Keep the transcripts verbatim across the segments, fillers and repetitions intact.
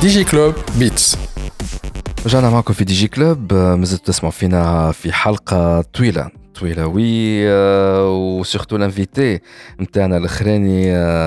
دي جي كلوب بيتس. رجعنا معكم في دي جي كلوب. مازلتوا تسمعوا فينا في حلقة طويلة طويلة وي وسورتو الانفيتي نتاعنا الاخراني.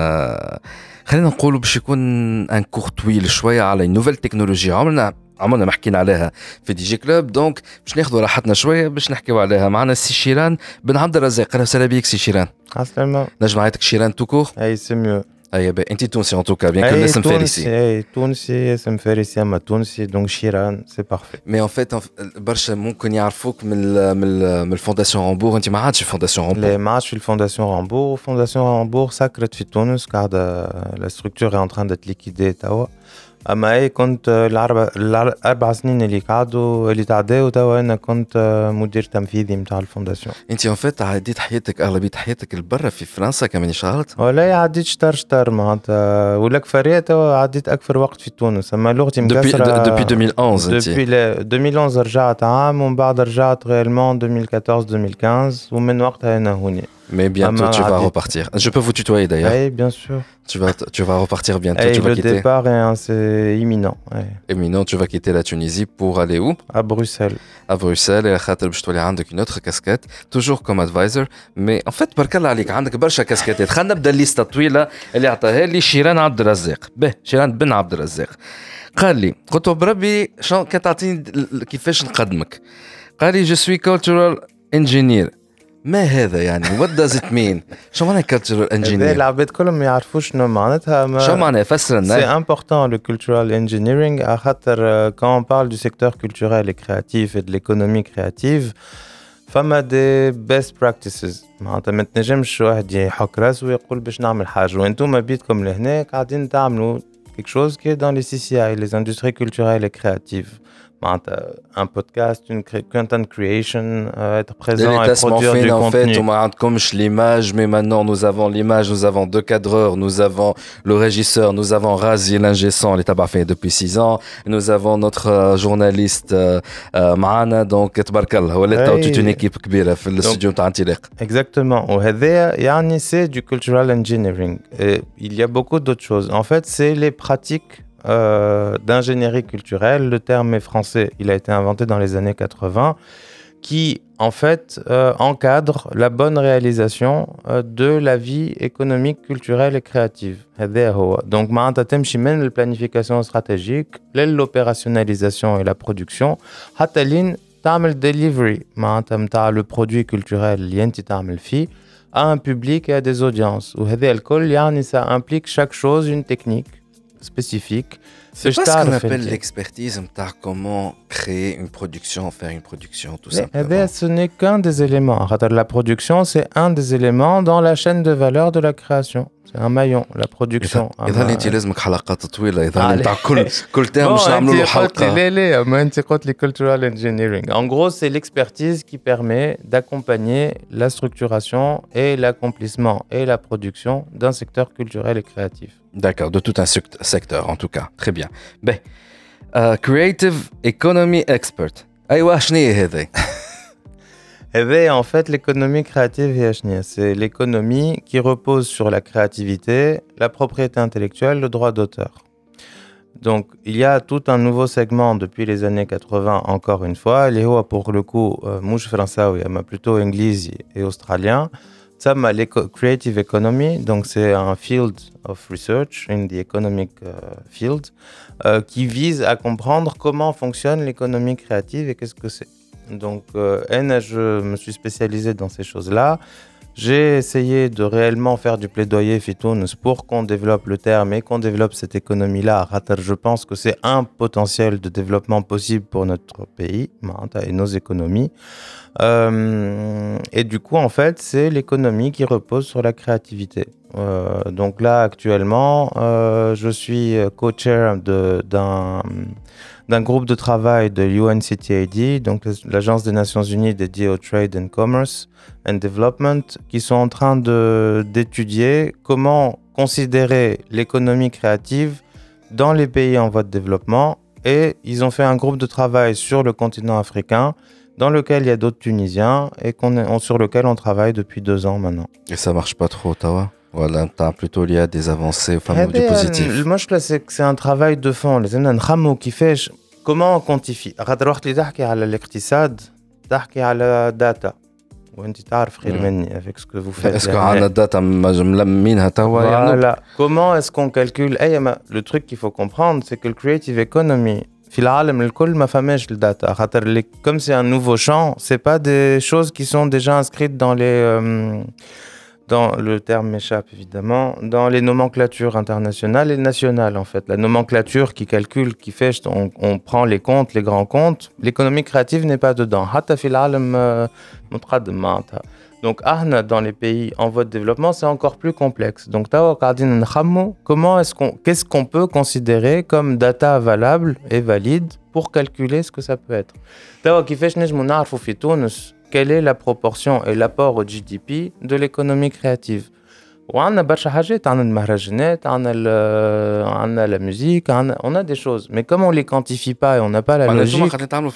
خلينا نقولوا باش يكون ان كور طويل شوية على نوفيل تكنولوجيا عمرنا عمرنا ما حكينا عليها في دي جي كلوب، دونك باش ناخذوا راحتنا شوية باش نحكيو عليها. معنا السي شيران بن عبد الرزاق. اهلا وسهلا بيك سي شيران. عسلامة. نجم نعيطك شيران توكور؟ اي سي ميو. اي با انت تونسي ان توكا بيان كو الاسم فارسي. اي تونسي اسم فارسي اما تونسي دونك شيران سي بارفي. مي ان فيت برشا ممكن يعرفوك من ال من ال من الفونداسيون رامبور. انت ما عادش في فونداسيون رامبور؟ لا ما عادش في الفونداسيون رامبور. فونداسيون رامبور سكرت في تونس قاعدة لا ستركتور اي ان تران دت ليكيدي توا. اما اي كنت الاربع الاربع سنين اللي قعدوا اللي تعداو توا انا كنت مدير تنفيذي نتاع الفونداسيون. انت ان فيت عديت حياتك اغلبيه حياتك لبرا في فرنسا كمان شغلت؟ ولا عديت شطر شطر معناتها ولك فريات توا عديت اكثر وقت في تونس. اما لغتي مكسره دوبي دوبي ألفين وإحدى عشر. دوبي ألفين وإحدى عشر رجعت عام ومن بعد رجعت غيرمون ألفين وأربعطاش ألفين وخمسطاش ومن وقتها انا هوني. Mais bientôt tu vas repartir. Je peux vous tutoyer d'ailleurs. Oui, bien sûr. Tu vas, tu vas repartir bientôt. Et tu vas le quitter. départ est c'est imminent. Ouais. Imminent. Tu vas quitter la Tunisie pour aller où? À Bruxelles. À Bruxelles. Et خاطر باش تولي عندك une autre casquette, toujours comme advisor. Mais en fait برك الله عليك عندك برشا كاسكيتات. خلينا نبدا الليسته الطويله اللي عطاها لي شيران عبد الرزاق. به شيران بن عبد الرزاق. قال لي قلت له بربي شنو كتعطيني كيفاش نقدمك؟ قال لي je suis cultural engineer. ما هذا يعني what does it mean؟ شو معنى cultural engineer؟ العباد كلهم ما يعرفوش شنو معناتها. شو معنى فسر لنا؟ C'est important le cultural engineering à خاطر quand on parle du secteur culturel et créatif et de l'économie créative فما des best practices. معناتها ما تنجمش واحد يحك راسه ويقول باش نعمل حاجه وانتم بيتكم لهنا قاعدين تعملوا quelque chose qui est dans les C C I les industries culturelles et créatives. Un podcast, une content creation, euh, être présent et produire du en contenu. fait, on m'a comme l'image, mais maintenant nous avons l'image, nous avons deux cadreurs, nous avons le régisseur, nous avons Razi l'ingé son, il est fait depuis six ans, nous avons notre euh, journaliste Maana, donc تبارك ولا toute une équipe كبيرة في الاستوديو تاع انطلاق. Exactement. وهذا يعني c'est du cultural engineering. Et il y a beaucoup d'autres choses. En fait, c'est les pratiques Euh, d'ingénierie culturelle. Le terme est français, il a été inventé dans les années quatre-vingts, qui en fait euh, encadre la bonne réalisation euh, de la vie économique, culturelle et créative. Donc معناتها تمشي من البلانيفيكاسيون stratégique للopérationnalisation et la production حتى لين تعمل delivery معناتها متاع le produit culturel اللي انت تعمل فيه à un public et à des audiences. وهذا الكل يعني ça implique chaque chose une technique spécifique. C'est pas ce qu'on appelle l'expertise, comment créer une production, faire une production, tout ça. Mais ce n'est qu'un des éléments. La production, c'est un des éléments dans la chaîne de valeur de la création. C'est un maillon, la production. إذا أنت لازمك حلقات طويلة. إذا أنت كل كل تام مش نعملوا له حلقة. لا لا ما أنت قلت لي cultural engineering. En gros, c'est l'expertise qui permet d'accompagner la structuration et l'accomplissement et la production d'un secteur culturel et créatif. D'accord, de tout un secteur en tout cas. Très bien. Ben, uh, creative economy expert. أيوة شنو هي هذا؟ Eh bien, en fait, l'économie créative, c'est l'économie qui repose sur la créativité, la propriété intellectuelle, le droit d'auteur. Donc, il y a tout un nouveau segment depuis les années quatre-vingts, encore une fois. Les hauts, pour le coup, mouche français, mais plutôt anglais et australien. Ça, la creative economy, donc c'est un field of research in the economic uh, field euh, qui vise à comprendre comment fonctionne l'économie créative et qu'est-ce que c'est. Donc, euh, je me suis spécialisé dans ces choses-là. J'ai essayé de réellement faire du plaidoyer Fitounes pour qu'on développe le terme et qu'on développe cette économie-là. Je pense que c'est un potentiel de développement possible pour notre pays et nos économies. Euh, et du coup, en fait, c'est l'économie qui repose sur la créativité. Euh, donc là, actuellement, euh, je suis co-chair de, d'un... d'un groupe de travail de U N C T A D, donc l'Agence des Nations Unies dédiée au Trade and Commerce and Development, qui sont en train de, d'étudier comment considérer l'économie créative dans les pays en voie de développement. Et ils ont fait un groupe de travail sur le continent africain, dans lequel il y a d'autres Tunisiens et qu'on est, on, sur lequel on travaille depuis deux ans maintenant. Et ça marche pas trop, Ottawa ? Voilà, t'as plutôt lié à des avancées, enfin, du positif. Moi, je pense que c'est un travail de fond. Les gens نخمو كيفاش comment on quantifie. خاطر وقت اللي تحكي على الاقتصاد تحكي على data. وانت تعرف خير مني avec ce que vous faites. Est-ce qu'on a une data ملمينها توا يعني? Voilà. Comment est-ce qu'on calcule? Le truc qu'il faut comprendre, c'est que le creative economy, في العالم الكل ما فماش الداتا. خاطر comme c'est un nouveau champ, c'est pas des choses qui sont déjà inscrites dans les euh, dans le terme m'échappe évidemment, dans les nomenclatures internationales et nationales en fait. La nomenclature qui calcule, qui fait, on, on prend les comptes, les grands comptes. L'économie créative n'est pas dedans. حتى في العالم متقدم معناتها. Donc, ahna, dans les pays en voie de développement, c'est encore plus complexe. Donc, comment est-ce qu'on, qu'est-ce qu'on peut considérer comme data valable et valide pour calculer ce que ça peut être. Quelle est la proportion et l'apport au G D P de l'économie créative? وعندنا برشا حاجات عندنا المهرجانات عندنا عندنا la musique on a des choses mais comme on les quantifie pas et on n'a pas la logique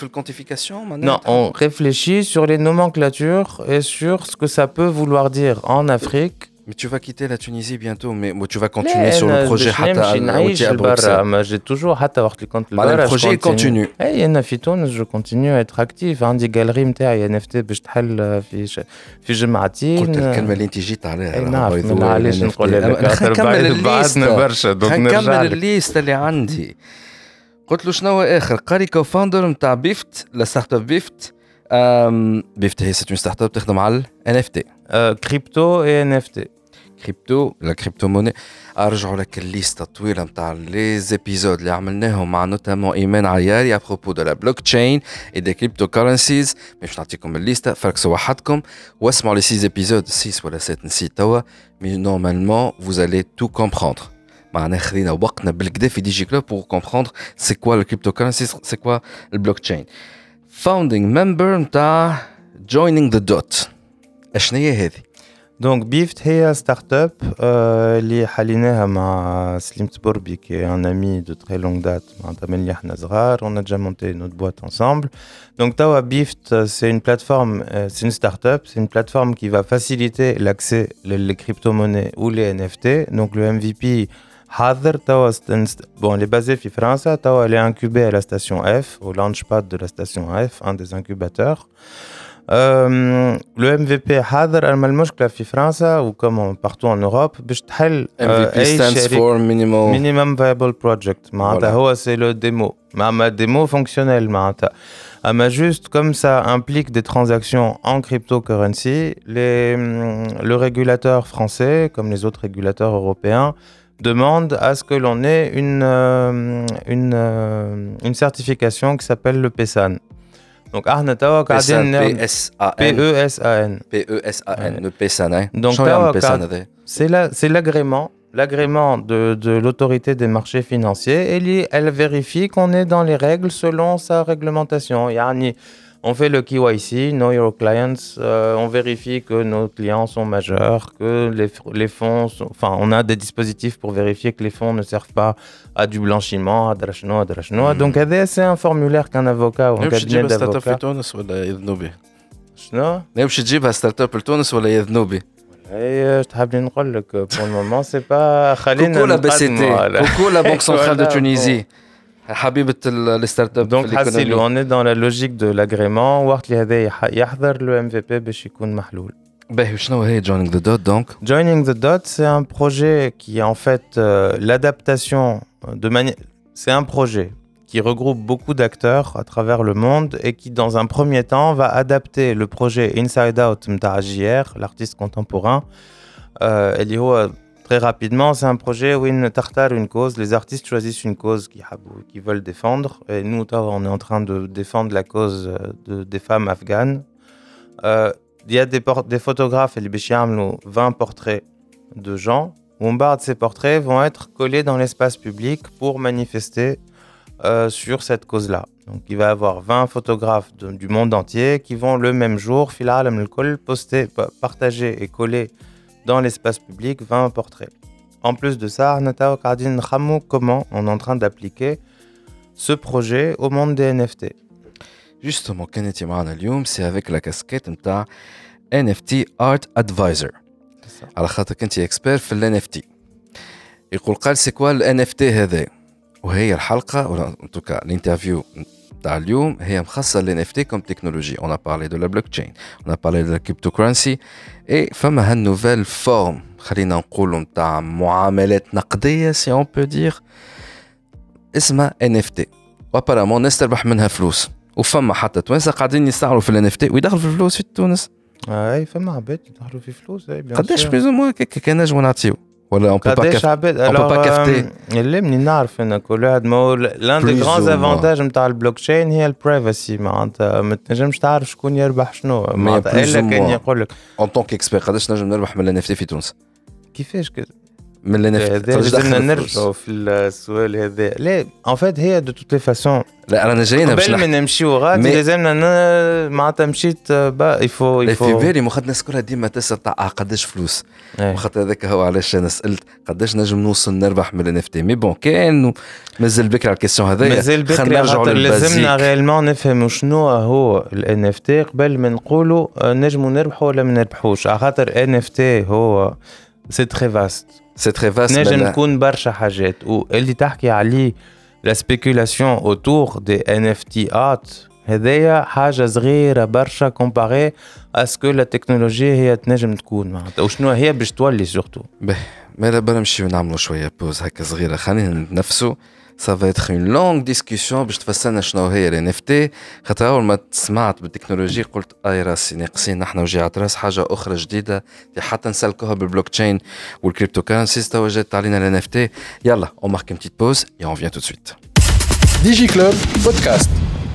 non on réfléchit sur les nomenclatures et sur ce que ça peut vouloir dire en Afrique. Mais tu vas quitter la Tunisie bientôt, mais tu vas continuer sur le projet Hatta à Bruxelles. J'ai toujours Hatta وقت اللي كنت لبرا. Le projet continue. اي انا في تونس je continue à être actif. عندي جاليري نتاعي ان اف تي باش تحل في في جمعتين. قلت الكلمه اللي انت جيت عليها. نعرف علاش نقول لك نكمل بعدنا برشا دونك نكمل الليست اللي عندي. قلت له شنو اخر قاري كوفاوندر نتاع بيفت لا ستارت اب بيفت. بيفت هي سيت اون ستارت اب تخدم على ان اف تي كريبتو اي ان اف تي كريبتو لا كريبتو موني. ارجعوا لك الليسته الطويله نتاع لي زيبيزود اللي عملناهم مع نوتامون ايمان عياري ابروبو دو لا بلوك تشين اي دي كريبتو كورنسيز. باش نعطيكم الليسته فركسوا وحدكم واسمعوا لي سي زيبيزود ستة ولا سبعة نسيت توا مي نورمالمون vous allez tout comprendre. معنا خذينا وقتنا بالكدا في دي جي كلوب pour comprendre c'est quoi le cryptocurrencies, c'est quoi le blockchain. Founding member نتاع joining the dot. اشنو هي هذه؟ Donc Bift هي ستارت اب اللي حليناها مع سليم تبوربي qui est un ami de très longue date معناتها من اللي احنا صغار. On a déjà monté notre boîte ensemble. Donc توا Bift c'est une plateforme, c'est une start-up, c'est une plateforme qui va faciliter l'accès les crypto-monnaies ou les N F T. Donc le M V P حاضر توا bon elle est basée في فرنسا. توا elle est incubée à la station F, au launchpad de la station F, un des incubateurs. Euh, le M V P حاضر. أما المشكلة في فرنسا و comme partout en Europe باش تحل M V P stands for minimum minimum viable project. معناتها هو c'est le démo. ما démo fonctionnel معناتها. أما juste comme ça implique des transactions en cryptocurrency, les, le régulateur français comme les autres régulateurs européens demande à ce que l'on ait une, euh, une, euh, une certification qui s'appelle le P S A N. Donc, P S A N. P E S A N. P E S A N, le P S A N. Donc, c'est la, c'est l'agrément, l'agrément de, de l'autorité des marchés financiers. Et elle vérifie qu'on est dans les règles selon sa réglementation. Yani, on fait le K Y C, Know Your Clients, euh, on vérifie que nos clients sont majeurs, que les, les fonds, sont, enfin, on a des dispositifs pour vérifier que les fonds ne servent pas à du blanchiment, à drachno, à drachno. Mm. Donc, c'est un formulaire qu'un avocat ou un cabinet d'avocats. شنو؟ باش تجيبها ستارت اب لتونس ولا يذنوبي؟ اي تحب نقول لك بور المومون سي با خلينا كوكو لا بي سي تي كوكو لا بنك سنترال دو تونيزي حبيبه الستارت اب. دونك حاسيلو اون اي دون لا لوجيك دو لاغريمون وقت اللي هذا يحضر لو ام في بي باش يكون محلول. باهي شنو هي joining the dot donc? Joining the dot c'est un projet qui est en fait euh, l'adaptation de manière c'est un projet qui regroupe beaucoup d'acteurs à travers le monde et qui dans un premier temps va adapter le projet Inside Out de J R, l'artiste contemporain. Euh, et très rapidement, c'est un projet où ils tartarent une cause. Les artistes choisissent une cause qu'ils veulent défendre. Et nous, on est en train de défendre la cause de, des femmes afghanes. Euh, il y a des, des photographes, et vingt portraits de gens. Où ces portraits vont être collés dans l'espace public pour manifester Euh, sur cette cause-là. Donc, il va y avoir vingt photographes de, du monde entier qui vont le même jour, poster, partager et coller dans l'espace public vingt portraits. En plus de ça, comment on est en train d'appliquer ce projet au monde des N F T. Justement, c'est avec la casquette de N F T Art Advisor. على خاطر كنت اكسبير في ال إن إف تي. يقول قال سي كوا ال إن إف تي هذا، وهي الحلقه ولا ان توكا الانترفيو تاع اليوم هي مخصصه لل إن إف تي كوم تكنولوجي. اون ا بارلي دو لا بلوك تشين، اون ا بارلي دو لا كريبتوكرنسي، اي فما هالنوفيل فورم خلينا نقولوا نتاع معاملات نقديه سي اون بو دير اسمها إن إف تي، وابارامون الناس تربح منها فلوس. وفما حتى توانسه قاعدين يستعملوا في ال إن إف تي ويدخلوا في الفلوس في تونس. اي فما عباد يدخلوا في فلوس. اي بيان قداش بلوز موا كان نجموا نعطيو ولا اون بو با قداش عباد اون بو با كافتي. اللي مني نعرف ان كل واحد ما لان دي غران افونتاج نتاع البلوك تشين هي البرايفسي. معناتها ما تنجمش تعرف شكون يربح شنو، معناتها الا كان يقول لك اون طونك اكسبير قداش نجم نربح من ال إن إف تي في تونس. كيفاش كده من ال إن إف تي لازمنا نرجعوا في السؤال هذا. لا ان فيت هي دو توت لي فاسون. لا انا جاينا باش قبل ما نمشيو غادي لازمنا معناتها مشيت با يفو يفو في بالي مخد الناس كلها ديما تسال تاع قداش فلوس. وخاطر هذاك هو علاش انا سالت قداش نجم نوصل نربح من ال إن إف تي. مي بون كان مازال بكري على الكيسيون هذايا. مازال بكري خاطر لازمنا غيالمون نفهموا شنو هو ال إن إف تي قبل ما نقولوا نجموا نربحوا ولا ما نربحوش. على خاطر إن إف تي هو سي تري فاست، سي تري فاست، نجم تكون برشا حاجات. واللي تحكي عليه لا سبيكولاسيون اوتور دي إن إف تي ات هذايا حاجه صغيره برشا كومباري اسكو لا تكنولوجي هي تنجم تكون معناتها وشنو هي باش تولي سورتو. باهي مالا بلا نمشيو نعملوا شويه بوز هكا صغيره. خلينا نتنفسوا. ça va être une longue discussion باش تفسرنا شنو هي ال إن إف تي. خاطر اول ما سمعت بالتكنولوجي قلت اي راسي ناقصين نحن وجيعة راس حاجه اخرى جديده حتى نسلكوها بالبلوك تشين والكريبتو كرنسيز. توا جات علينا ال إن إف تي. يلا on marque une petite pause et on revient tout de suite. ديجي كلوب بودكاست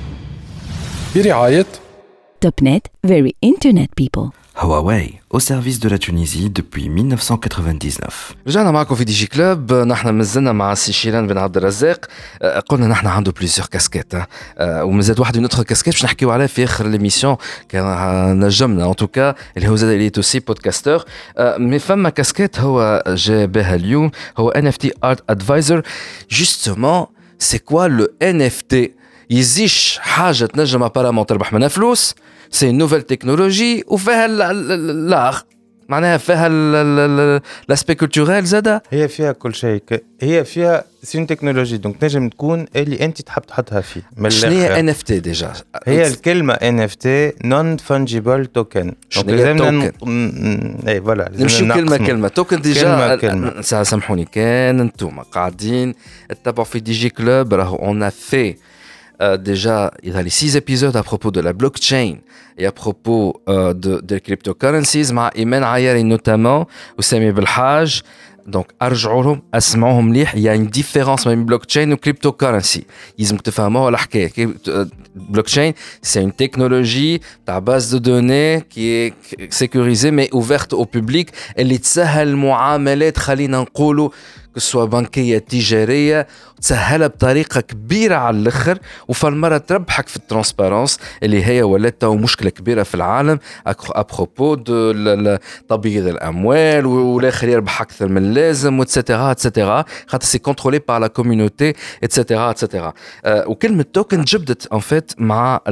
برعاية Topnet, very internet people. Huawei, au service de la Tunisie depuis mille neuf cent quatre-vingt-dix-neuf. رجعنا معكم في دي جي كلوب. نحن مازلنا مع السي شيران بن عبد الرزاق. قلنا نحن عنده بليزيور كاسكيت ومازال واحد من نوتر كاسكيت باش نحكيو عليه في اخر ليميسيون كان نجمنا ان توكا اللي هو زاد اللي توسي بودكاستور. مي فما كاسكيت هو جا بها اليوم هو إن إف تي ارت ادفايزر. جوستومون سي كوا لو إن إف تي؟ يزيش حاجه تنجم ابارامون تربح منها فلوس. سي نوفيل تكنولوجي وفيها لاغ معناها فيها لاسبي كولتوريل زاده. هي فيها كل شيء. هي فيها سين تكنولوجي دونك تنجم تكون اللي انت تحب تحطها فيه. شنو هي إن إف تي ديجا؟ هي الكلمه إن إف تي نون فانجيبل توكن. شنو هي توكن؟ اي فوالا نمشيو كلمه كلمه. توكن ديجا سامحوني كان انتم قاعدين تتبعوا في دي جي كلوب راهو اون ا في Euh, déjà, il y a les six épisodes à propos de la blockchain et à propos euh, de, de cryptocurrencies, مع إيمان عياري notamment, وسامي بالحاج. Donc, أرجعوهم أسمعوهم مليح. Il y a une différence بين blockchain و cryptocurrency. يلزم تفهموها الحكاية. Blockchain, c'est une technologie تاع base de données qui est sécurisée mais ouverte au public. اللي تسهل المعاملات خلينا نقولوا كسوا بنكية تجارية تسهلها بطريقة كبيرة على الآخر. وفالمرة تربحك في الترانسبارنس اللي هي ولات مشكلة كبيرة في العالم أبروبو دو تبييض الأموال والآخر يربح أكثر من اللازم واتسيتيرا اتسيتيرا خاطر سي كونترولي بار لا كوميونيتي اتسيتيرا اتسيتيرا. وكلمة توكن جبدت ان فيت مع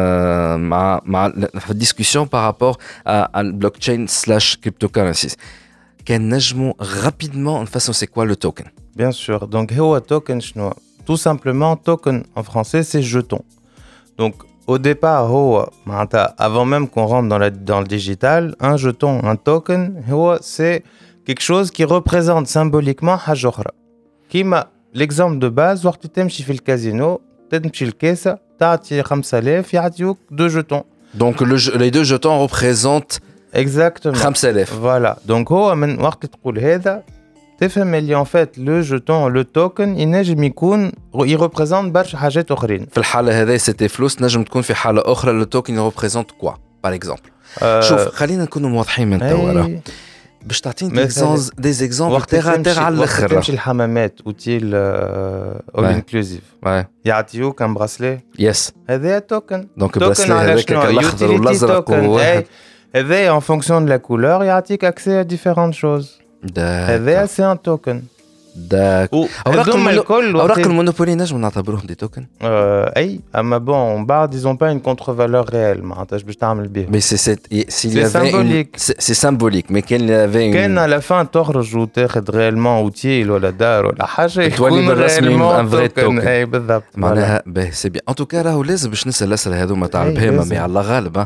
مع مع الديسكسيون بارابور على البلوك تشين سلاش كريبتو كرنسيز. كان نجمو rapidement نفسروا c'est quoi le token. Bien sûr. Donc هو token شنو؟ Tout simplement token en français c'est jeton. Donc au départ هو معناتها avant même qu'on rentre dans la dans le digital, un jeton, un token هو c'est quelque chose qui représente symboliquement حاجة أخرى. كيما l'exemple de base وقت تمشي في الكازينو تمشي الكاسة تعطي خمسة آلاف يعطيوك deux jetons. Donc le, les deux jetons représentent Exactement. خمسة آلاف. Voilà. Donc هو من وقت تقول هذا تفهم اللي en fait le jeton le token ينجم يكون il représente برشا حاجات أخرين. في الحالة هذه c'était فلوس. نجم تكون في حالة أخرى le token représente quoi par exemple. أه شوف خلينا نكونوا واضحين من توا باش تعطيني دي زيكزامبل تيغ تيغ على الاخر. تمشي الحمامات اوتيل اول انكلوزيف يعطيوك ان براسلي يس هذا توكن. دونك براسلي هذاك الاخضر والازرق هذا en fonction de la couleur يعطيك accès à différentes choses. هذا c'est un token. داك اوراق المونو... اوراق المونوبولي نجم نعتبروهم دي توكن اي اما بون بعد ils ont pas une contre-valeur réelle معناتها باش تعمل بيهم mais c'est c'est s'il y c'est avait symbolique une... c'est, c'est symbolique mais كان avait une كان à la fin تخرج وتاخذ réellement اوتيل ولا دار ولا حاجه يكون بالرسمي ان فري توكن اي بالضبط معناها باهي سي بيان ان توكا راهو لازم باش نسال الاسئله هذوما تاع البهيمه مي على غالب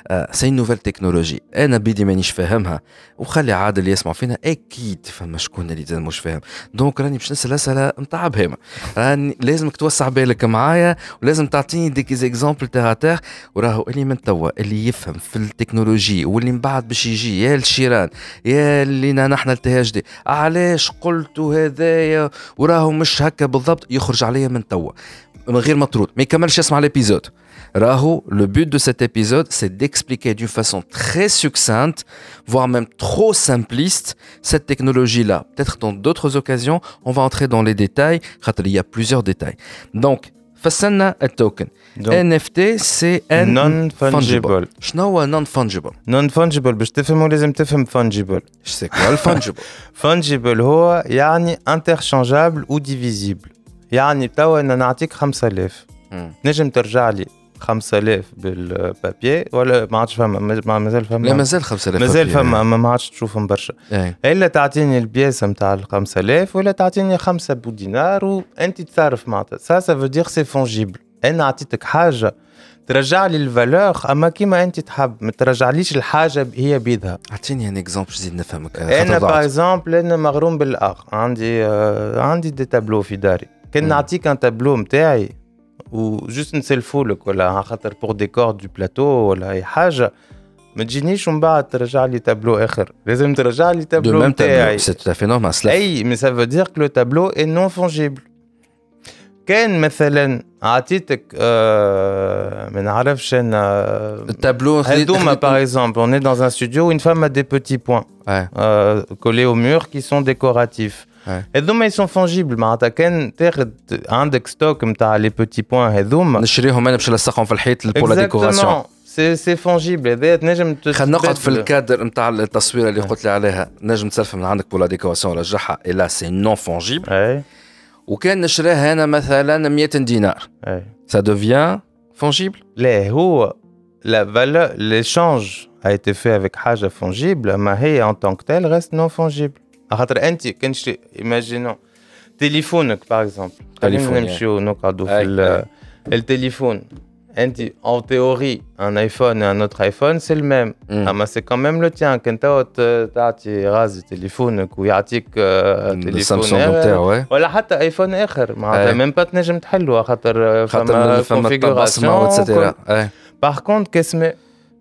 سي نوفيل تكنولوجي انا بيدي مانيش فاهمها وخلي عادل يسمع فينا اكيد فما شكون اللي مش فاهم دونك راني باش نسال اسئله نتاع بهيمه راني لازمك توسع بالك معايا ولازم تعطيني ديك زيكزامبل تاع تاع وراهو اللي من توا اللي يفهم في التكنولوجي واللي من بعد باش يجي يا الشيران يا اللي نحن التهاج دي علاش قلتوا هذايا وراهو مش هكا بالضبط يخرج عليا من توا من غير مطرود ما يكملش يسمع ليبيزود راهو le but de cet épisode c'est d'expliquer d'une façon très succincte voire même trop simpliste cette technologie là peut-être dans d'autres occasions on va entrer dans les détails car il y a plusieurs détails donc فسرنا التوكن إن إف تي c'est non fungible شنو هو non fungible non fungible باش تفهموا لازم تفهم fungible c'est quoi le fungible fungible هو يعني interchangeable ou divisible يعني توا انا نعطيك خمسة آلاف نجم ترجع لي خمسة آلاف بالبابي ولا ما عادش فما ما مازال فما لا مازال خمسة آلاف مازال فما ما عادش تشوفهم برشا الا تعطيني البياسه نتاع ال خمسة آلاف ولا تعطيني خمسة بودينار وانت تصرف معناتها سا سا فو دير سي فونجيبل انا عطيتك حاجه ترجع لي الفالور اما كيما انت تحب ما ترجعليش الحاجه هي بيدها اعطيني ان اكزامبل زيد نفهمك انا باغ اكزامبل انا مغروم بالاخ عندي آه عندي دي تابلو في داري كان نعطيك ان تابلو نتاعي وجوست نسلفو لك ولا خاطر بور ديكور دو بلاتو ولا اي حاجه ما تجينيش ومن بعد ترجع لي تابلو اخر لازم ترجع لي تابلو نتاعي سي تو افي نورمال اي مي سا فو دير كو لو تابلو اي نون فونجيبل كان مثلا عطيتك آه ما نعرفش انا التابلو هذوما باغ اكزومبل اون اي دون ان ستوديو وين فما دي بوتي بوين كولي او مور كي سون ديكوراتيف هذوما ils sont fongibles معناتها كان تاخذ عندك ستوك نتاع لي بوتي بوين هذوما نشريهم انا باش نلصقهم في الحيط بور لا ديكوراسيون سي سي فونجيبل هذا تنجم خلينا نقعد في الكادر نتاع التصويره اللي قلت لي عليها نجم تسلف من عندك بور لا ديكوراسيون رجعها الا سي نون فونجيبل وكان نشريها انا مثلا مية دينار ça devient fongible لا هو la valeur l'échange a été fait avec حاجه fongible ما هي en tant que tel reste non fongible خاطر انت كان شري ايماجينون تليفونك باغ اكزومبل خلينا نمشيو نقعدوا في التليفون انت en théorie un iPhone et un autre iPhone c'est le même اما c'est quand même le tien كنت تعطي غاز تليفونك ويعطيك تليفون نتاعو ولا حتى ايفون اخر معناتها ميم با تنجم تحلوها خاطر فما كونفيغوراسيون اتسيتيرا باغ كونت كاسماء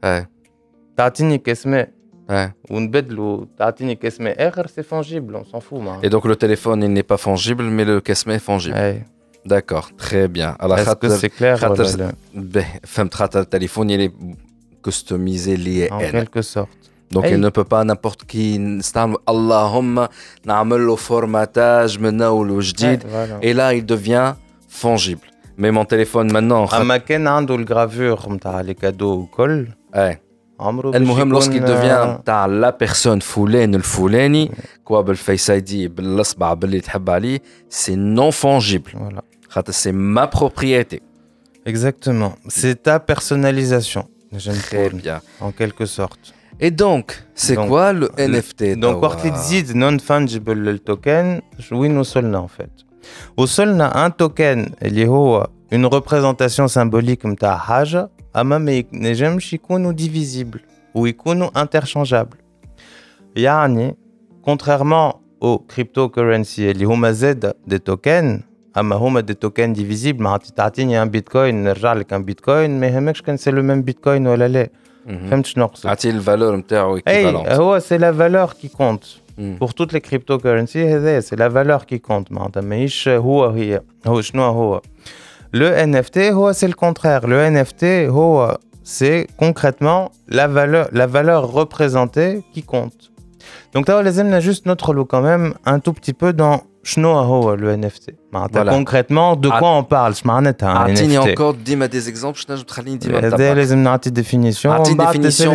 تعطيني كاسماء ونبدلوا تعطيني كاسماء اخر سي فونجيبل اون سون فو et donc le téléphone il n'est pas fongible mais le كاسماء est fongible d'accord très bien على خاطر سي كلير خاطر فهمت خاطر التليفون il est customisé lié en quelque sorte donc il ne peut pas n'importe qui نستعمل اللهم نعمل له فورماتاج من اول وجديد et là il devient fongible mais mon téléphone maintenant اما كان عنده الجرافور نتاع لي كادو وكل اي المهم لوسكي دوفيان تاع لا بيرسون فلان الفلاني كوا بالفيس اي دي بالاصبع باللي تحب عليه سي نون فونجيبل خاطر سي ما بروبريتي اكزاكتومون سي تا بيرسوناليزاسيون très bien en quelque sorte et donc c'est donc, quoi le N F T donc وقت اللي تزيد نون فانجيبل للتوكن وين وصلنا en fait وصلنا ان توكن اللي هو une représentation symbolique نتاع حاجه اما ما ينجمش يكونوا divisible ويكونوا interchangeable يعني contrairement aux cryptocurrency اللي هما زاد دي توكن اما هما دي توكن divisible ما تعطيني ان بيتكوين نرجع لك ان بيتكوين ما يهمكش كان سي لو ميم بيتكوين ولا لا فهمت شنو نقصد عطي الفالور نتاعو ايكيفالونت هو سي لا فالور كي كونت pour toutes les cryptocurrencies هذا سي لا فالور كي كونت معناتها ماهيش هو هي هو شنو هو Le N F T, c'est le contraire. Le N F T, c'est concrètement la valeur, la valeur représentée qui compte. Donc, tu as juste notre lot quand même un tout petit peu dans le N F T. Voilà. Concrètement, de quoi on parle? Je m'en ai un N F T. encore dis-moi des exemples. Je t'ai dit des une définition. Une définition,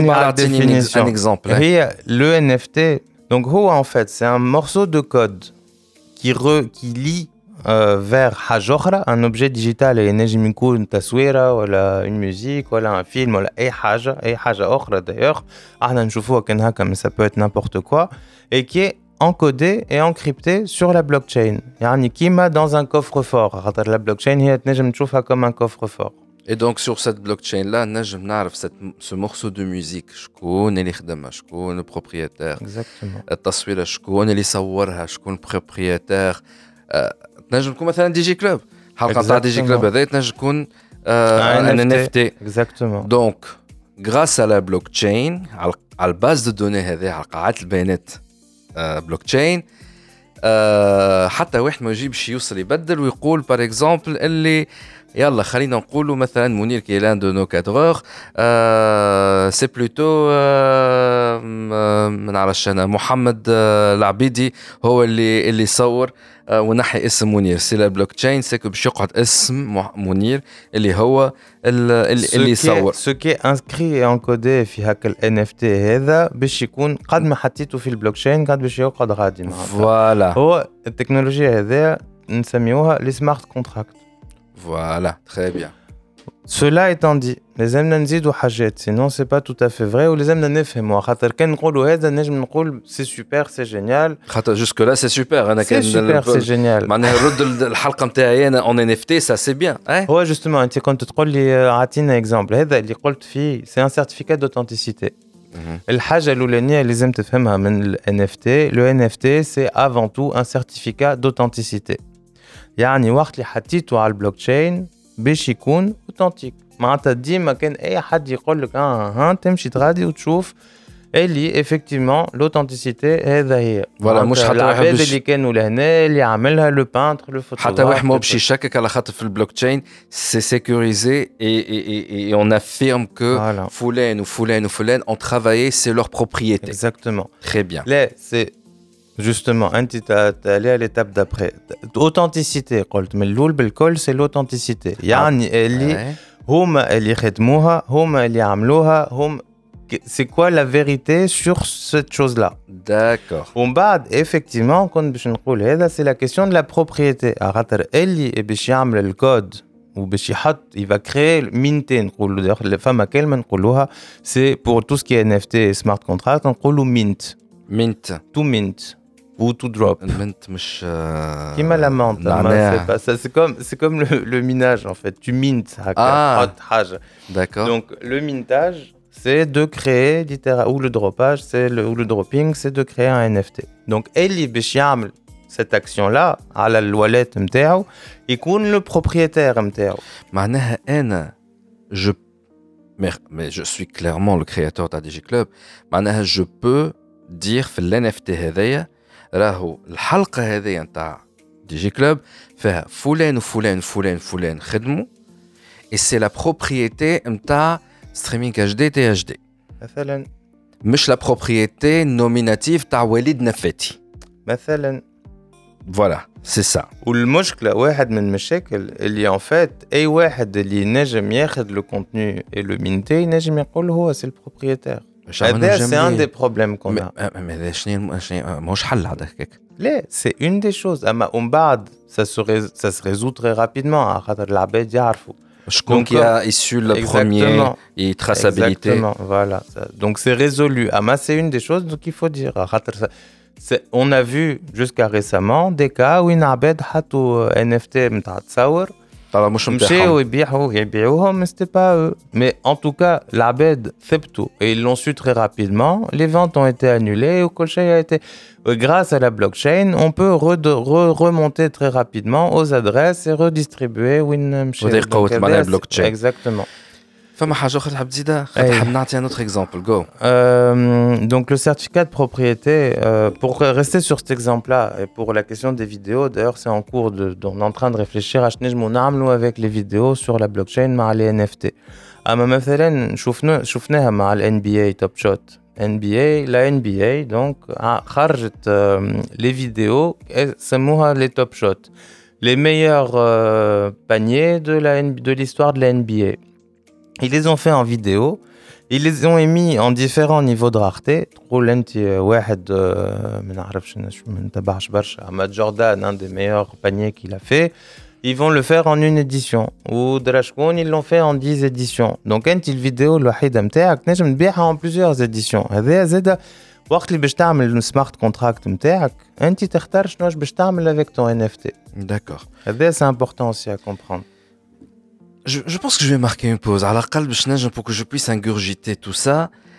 un exemple. Le N F T, donc en fait, c'est un morceau de code qui, re, qui lie euh, vers حاجة أخرى, un objet digital ينجم يكون تصويرة ولا une musique ولا un film ولا أي حاجة أي حاجة أخرى d'ailleurs احنا نشوفوها كان هكا mais ça peut être n'importe quoi et qui est encodé et encrypté sur la blockchain يعني كيما dans un coffre-fort خاطر la blockchain هي تنجم تشوفها comme un coffre-fort. Et donc sur cette blockchain là نجم نعرف cette ce morceau de musique شكون اللي خدمها شكون البروبريتير Exactement. التصويره شكون اللي صورها شكون البروبريتير تنجم تكون مثلا دي جي كلوب حلقه تاع دي جي كلوب هذا تنجم تكون ان ان اف تي. Exactement. دونك غراس على بلوكتشين على الباز دو دوني هذه على قاعات البيانات بلوكتشين حتى واحد ما يجيبش يوصل يبدل ويقول بار اكزومبل اللي يلا خلينا نقولوا مثلا منير كي لان دو نو كادغور سي بلوتو ما نعرفش انا محمد العبيدي هو اللي اللي صور ونحي اسم منير سي لا بلوك تشين سي كو باش يقعد اسم منير اللي هو اللي اللي يصور سو كي انسكري انكودي في هاك الان اف تي هذا باش يكون قد ما حطيته في البلوك تشين قد باش يقعد غادي معاه. فوالا هو التكنولوجيا هذه نسميوها لي سمارت كونتراكت. Voilà, très bien. Cela étant dit, لازمنا نزيدوا حاجات sinon c'est pas tout à fait vrai ولازمنا نفهموا خاطر كان نقولوا هذا نجم نقول سي سوبر سي جينيال خاطر جوسك لا سي سوبر انا كان سي سوبر سي جينيال معناها نرد الحلقه نتاعي انا اون ان اف تي سا سي بيان. هو جوستومون انت كنت تقول لي عطينا اكزامبل هذا اللي قلت فيه سي ان سيرتيفيكات دوثنتيسيتي. الحاجه الاولانيه اللي لازم تفهمها من الان اف تي لو ان اف تي سي افون تو ان سيرتيفيكات دوثنتيسيتي يعني وقت اللي حطيته على البلوك تشين باش يكون اوثنتيك معناتها ديما كان اي حد يقول لك اه ها تمشي تغادي وتشوف اللي افكتيفمون لوثنتيسيتي هذا هي فوالا مش حتى واحد العباد اللي كانوا لهنا اللي عملها لو بانتر لو فوتوغراف حتى واحد ما باش يشكك على خاطر في البلوك تشين سي سيكوريزي اي اون افيرم كو فلان وفلان وفلان اون ترافايي سي لور بروبريتي. اكزاكتومون تري بيان. لا سي Justement, انت تالي à l'étape d'après. Authenticité قلت من الاول بالكل سي l'authenticité يعني اللي هما اللي خدموها هما اللي عملوها هم c'est quoi la vérité sur cette chose là. D'accord. ومن بعد effectivement كنت باش نقول هذا c'est la question de la propriété خاطر اللي باش يعمل الكود وباش يحط il va créer مينتين نقولوا فما كلمه نقولوها c'est pour tout ce qui est ان اف تي smart contract نقولوا mint mint to mint ou to drop. Mint مش كيما la menthe. C'est pas ça, c'est comme c'est comme le, le minage en fait. Tu mintes ah. حاجه. D'accord. Donc le mintage c'est de créer littéralement ou le dropage c'est le ou le dropping c'est de créer un ان اف تي. Donc اللي باش يعمل cette action là على الواليت نتاعو يكون le propriétaire نتاعو. معناها انا je mais, mais je suis clairement le créateur de دي جي Club. معناها je peux dire في ال ان اف تي هذايا راهو الحلقه هذه نتاع دي جي كلوب فيها فلان وفلان وفلان وفلان خدموا et c'est la propriété نتاع ستريمينغ اتش دي تي اتش دي مثلا مش la propriété nominative تاع وليد نفاتي مثلا. فوالا سي سا. والمشكله واحد من المشاكل اللي ان فات اي واحد اللي نجم ياخذ لو كونتوني اي لو مينتي نجم يقول هو سي البروبريتير. هذا سي ان دي بروبليم كون هذا شنو ماهوش حل هذاك. لا سي اون دي شوز اما ومن بعد سا سا سي ريزو تري رابيدمون خاطر العباد يعرفوا شكون كي ا ايسو لو بروميير اي تراسابيليتي. فوالا دونك سي ريزولو اما سي اون دي شوز دونك il faut dire خاطر on a vu jusqu'à récemment des cas وين عباد حطوا ان اف تي نتاع تصور طبعا مش نتاعهم مشاو يبيعوا يبيعوهم c'était pas eux mais en tout cas العباد ثبتوا et ils l'ont su très rapidement les ventes ont été annulées وكل شيء a été grâce à la blockchain on peut re- re- remonter très rapidement aux adresses et redistribuer وين مشاو. وهذه قوة معناها البلوكتشين. exactement. فما حاجه اخرى تحب تزيدها خاطر حاب نعطي un autre exemple go. Euh, donc le certificat de propriété euh, pour rester sur cet exemple là et pour la question des vidéos d'ailleurs c'est en cours de on est en train de réfléchir à شنو نعملوا avec les vidéos sur la blockchain مع les ان اف تي. اما مثلا شفنا شفناها مع ال ان بي اي توب شوت ان بي اي لا ان بي اي دونك خرجت les vidéos سموها les توب شوت les meilleurs paniers de la de l'histoire de la ان بي اي. Ils les ont fait en vidéo Ils les ont émis en différents niveaux de rareté. تقول انت واحد ما نعرفش انا شو ما نتبعش برشا اما جوردان un des meilleurs paniers qu'il a fait. Ils vont le faire en une édition. Ou Drashkoun, ils l'ont fait en dix éditions. Donc انت الفيديو الوحيدة نتاعك نجم تبيعها en plusieurs éditions. هذا زاد وقت اللي باش تعمل السمارت كونتراكت نتاعك انت تختار شنو باش تعمل avec ton إن إف تي. D'accord. هذا c'est important aussi à comprendre. Je, je pense que je vais marquer une pause. À la calme, pour que je puisse ingurgiter tout ça.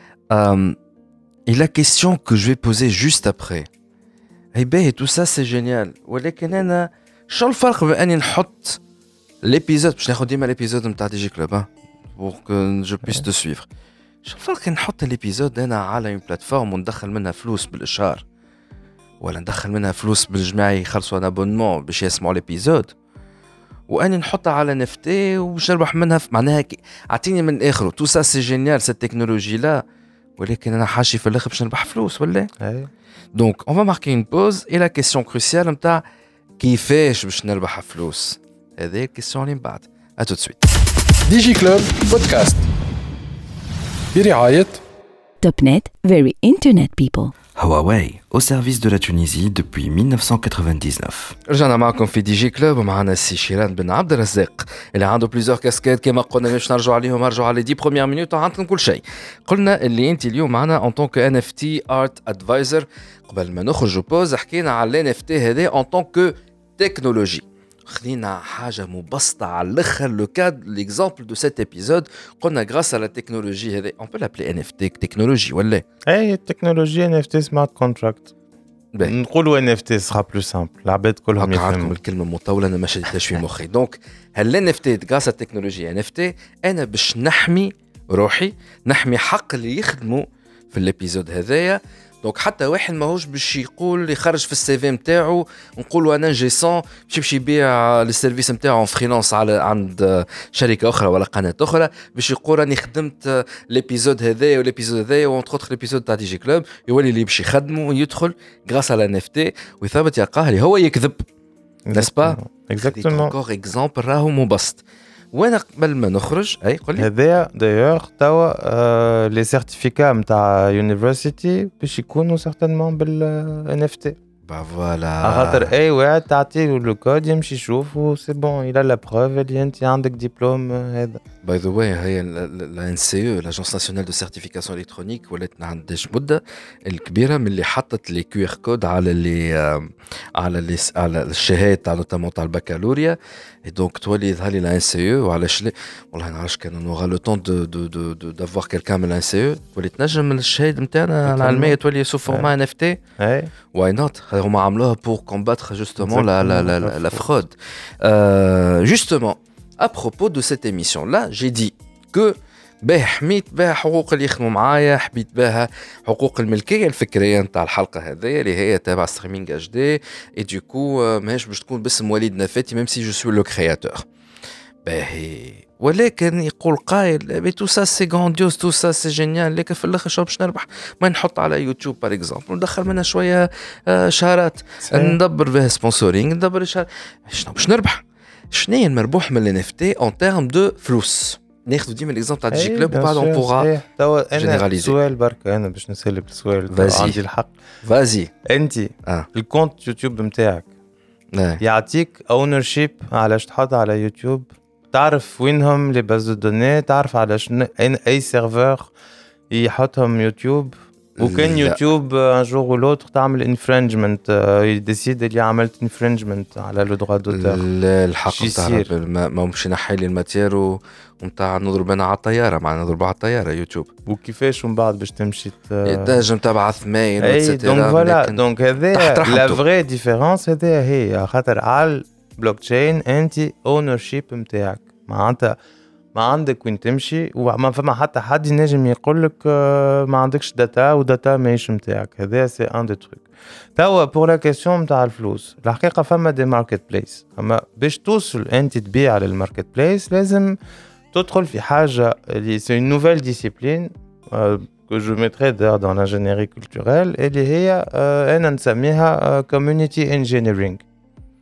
Euh, et la question que je vais poser juste après. Eh ben, et tout ça, c'est génial. ولكن أنا شو الفرق بين أني نحط l'épisode باش ناخذ ديما l'épisode نتاع دي جي كلوب pour que je puisse te suivre. شو الفرق نحط الابيزود أنا على une plateforme وندخل منها فلوس بالإشهار ولا ندخل منها فلوس بالجماعة يخلصوا un abonnement باش يسمعوا الابيزود وأني نحطها على إن إف تي وباش نربح منها معناها أعطيني من الآخر tout ça c'est génial cette technologie là ولكن أنا حاشي في الآخر باش نربح فلوس ولا donc on va marquer une pause et la question cruciale نتاع كيفاش باش نربح فلوس هذه الكيسيون اللي من بعد à tout de suite. ديجي كلوب بودكاست برعاية Topnet, very internet people. Huawei, au service de la Tunisie depuis mille neuf cent quatre-vingt-dix-neuf. رجعنا معكم في دي جي كلوب ومعنا السي شيران بن عبد الرزاق اللي عنده بليزور كاسكيت كما قلنا باش نرجعوا عليهم نرجعوا على دي بروميير مينوت وعندكم كل شيء. قلنا اللي انت اليوم معنا ان طونك ان اف تي ارت ادفايزر. قبل ما نخرجوا بوز حكينا على الان اف تي هذا ان طونك تكنولوجي. خلينا حاجة مبسطة على الأخر لو كاد ليكزامبل دو سيت إبيزود قلنا غراس على التكنولوجي هذه on peut l'appeler إن إف تي تكنولوجي ولا أي التكنولوجيا إن إف تي سمارت كونتراكت نقولوا إن إف تي سera plus simple العباد كلهم يفهموا الكلمة مطولة أنا ما شديتهاش في مخي دونك هل إن إف تي غراس على التكنولوجيا إن إف تي أنا باش نحمي روحي نحمي حق اللي يخدموا في الإبيزود هذايا دونك حتى واحد ماهوش باش يقول يخرج في السي في نتاعو نقولوا انا جيسون باش يمشي يبيع السيرفيس نتاعو فريلانس على عند شركه اخرى ولا قناه اخرى باش يقول راني خدمت ليبيزود هذايا وليبيزود هذايا وانتر اوتر ليبيزود تاع دي جي كلوب يولي اللي باش يخدمه ويدخل غراس على ان اف تي ويثبت يلقاه اللي هو يكذب نسبا اكزاكتومون انكور اكزامبل راهو مبسط. وانا قبل ما نخرج اي قول لي هذايا دايوغ توا لي سيرتيفيكا نتاع يونيفرسيتي باش يكونوا سيغتانمون بالان اف تي با فوالا خاطر اي واحد تعطيه لو كود يمشي يشوف و سي بون الى لا بروف اللي انت عندك دبلوم هذا. باي ذا واي هي لا ان سي او لاجونس ناسيونال دو سيرتيفيكاسيون الكترونيك ولات عندهاش مده الكبيره من اللي حطت لي كيو ار كود على لي على لي على الشهاده تاع نوتامون تاع البكالوريا اي دونك تولي يظهر لي لا ان سي او وعلاش لا والله ما نعرفش كان نوغا لو طون دو دو دو دافوار كيلكان من لا ان سي او تولي تنجم من الشهاده نتاعنا العلميه تولي سو فورما ان اف تي اي واي نوت هما عملوها بور كومباتر جوستومون لا لا لا لا fraude. Euh, justement, à propos de cette émission-là, j'ai dit que باه حميت بها حقوق اللي يخدموا معايا حميت بها حقوق الملكيه الفكريه نتاع الحلقه هذه اللي هي تابع ستريمينغ اتش دي اي دوكو ماهيش باش تكون باسم وليد نفاتي ميم سي جو سوي لو كرياتور باهي ولكن يقول قائل بي تو سا سي غرانديوز تو سا سي جينيال لكن في الاخر شو باش نربح ما نحط على يوتيوب بار اكزومبل وندخل منها شويه شهرات ندبر بها سبونسورينغ ندبر شهر شنو باش نربح شنو هي المربوح من الان اف تي اون تيرم دو فلوس ناخذ ديما ليكزامبل تاع دي جي كلوب وبعد اون بوغا توا انا سؤال برك انا باش نسالك السؤال عندي الحق فازي انت آه. الكونت يوتيوب نتاعك آه. يعطيك اونرشيب علاش تحط على يوتيوب تعرف وينهم لي باز دو دوني تعرف على شنو اي سيرفر يحطهم يوتيوب وكان يوتيوب ان جور و لوتر تعمل انفرنجمنت يديسيد اللي عملت انفرنجمنت على لو دروا دوتور الحق نتاع ما مش نحي لي الماتير ونتاع نضرب انا على الطياره معنا نضرب على الطياره يوتيوب وكيفاش من بعد باش تمشي تنجم تبعث مايل واتسيتيرا دونك فوالا دونك هذا لا فري ديفيرونس هذا هي خاطر على البلوك تشين انت اونرشيب نتاعك معناتها ما عندك وين تمشي وما فما حتى حد ينجم يقول لك ما عندكش داتا وداتا ماهيش نتاعك هذا سي ان دو تروك. توا بور لا كيسيون نتاع الفلوس الحقيقه فما دي ماركت بليس اما باش توصل انت تبيع على الماركت بليس لازم تدخل في حاجه اللي سي une nouvelle discipline que je mettrai d'ailleurs dans l'ingénierie culturelle اللي هي انا نسميها community engineering.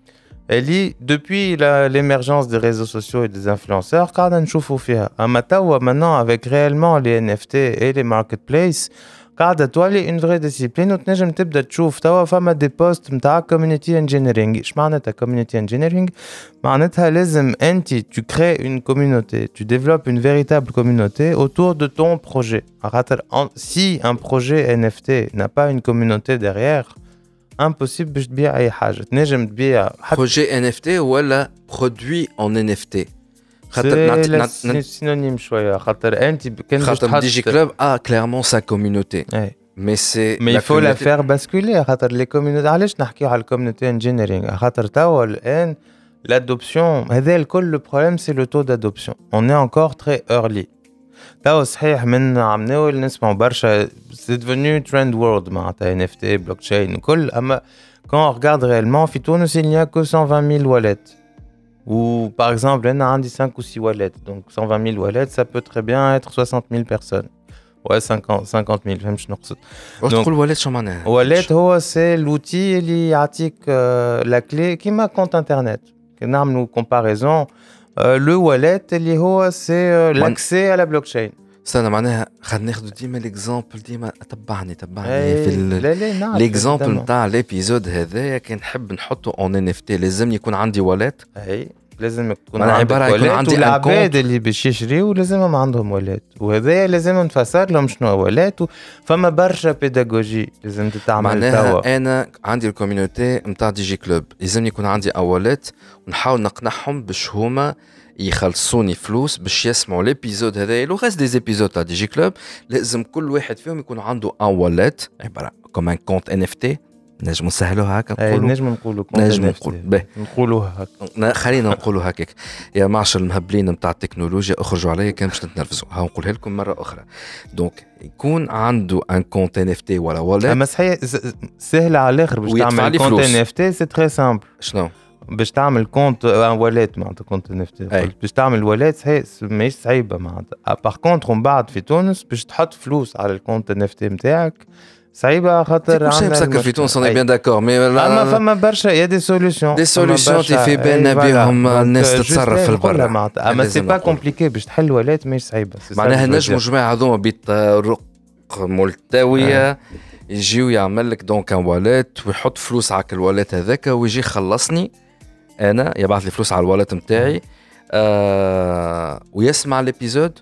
اللي depuis la, l'émergence des réseaux sociaux et des influenceurs قاعدة نشوفوا فيها. أما توا maintenant avec réellement les إن إف تي et les marketplaces قاعدة تولي une vraie discipline وتنجم تبدأ تشوف توا فما دي بوست متاع community engineering. إيش معناتها community engineering؟ معناتها لازم أنت tu crées une communauté, tu développes une véritable communauté autour de ton projet. Si un projet إن إف تي n'a pas une communauté derrière, impossible باش تبيع أي حاجة. تنجم تبيع projet إن إف تي ولا produit en إن إف تي. C'est synonyme شوية خاطر أنت كان باش تحط ديجي كلوب a clairement sa communauté. Mais c'est mais il faut la faire basculer خاطر les communautés. علاش نحكيو على الكوميونيتي انجينيرينغ؟ خاطر توا الآن l'adoption هذا الكل. le problème c'est le taux d'adoption. On est encore très early. توا صحيح من عم ناول نسمعوا برشا c'est devenu trend world معناتها إن إف تي blockchain وكل. أما quand on regarde réellement في تونس il n'y a que cent vingt mille wallets. Ou par exemple, on a un cinq ou six wallets. Donc cent vingt mille wallets, ça peut très bien être soixante mille personnes. Ouais, cinquante mille, même je ne sais pas. Donc, wallet, c'est wallet, c'est l'outil qui indique euh, la clé qui m'a compte internet. On a une comparaison. Euh, le wallet, c'est euh, l'accès à la blockchain. استنى معناها خلينا ناخذ ديما الاكزامبل ديما تبعني تبعني في الاكزامبل نتاع الابيزود هذايا كان نحب نحطه اون ان اف تي لازم يكون عندي واليت. اي لازم يكون عندي واليت والعباد اللي باش يشريوا لازمهم عندهم واليت وهذايا لازم نفسر لهم شنو واليت. فما برشا بيداغوجي لازم تتعمل توا. معناها انا عندي الكوميونيتي نتاع دي جي كلوب لازم يكون عندي واليت ونحاول نقنعهم باش هما يخلصوني فلوس باش يسمعوا الابيزود هذا لو غاز دي زيبيزود تاع دي جي كلوب. لازم كل واحد فيهم يكون عنده ان واليت عباره كوم ان كونت ان اف تي. نجم نسهلوها هكا نقولوا نجم نقولوا نجم نقول به نقولوها هكا خلينا نقولوا هكاك. يا معشر المهبلين نتاع التكنولوجيا اخرجوا عليا كان باش تتنرفزوا. ها نقولها لكم مره اخرى. دونك يكون عنده ان كونت ان اف تي ولا واليت. اما صحيح سهله على الاخر باش تعمل كونت ان اف تي. سي تري سامبل. شنو باش تعمل كونت ان واليت معناتها كونت ان اف تي باش تعمل واليت هي ماهيش صعيبه معناتها. باغ كونتر من بعد في تونس باش تحط فلوس على الكونت ان اف تي نتاعك صعيبه خاطر عندنا مسكر في تونس. انا بيان داكور مي اما فما برشا يا دي سوليوشن دي سوليوشن تي بان بهم الناس تتصرف في البر. اما سي با كومبليكي باش تحل واليت ماهيش صعيبه. معناها نجموا جماعه هذوما بطرق ملتويه يجيو يعمل لك دونك ان واليت ويحط فلوس على الواليت هذاك ويجي يخلصني انا يبعث لي فلوس على الواليت نتاعي آه ويسمع الابيزود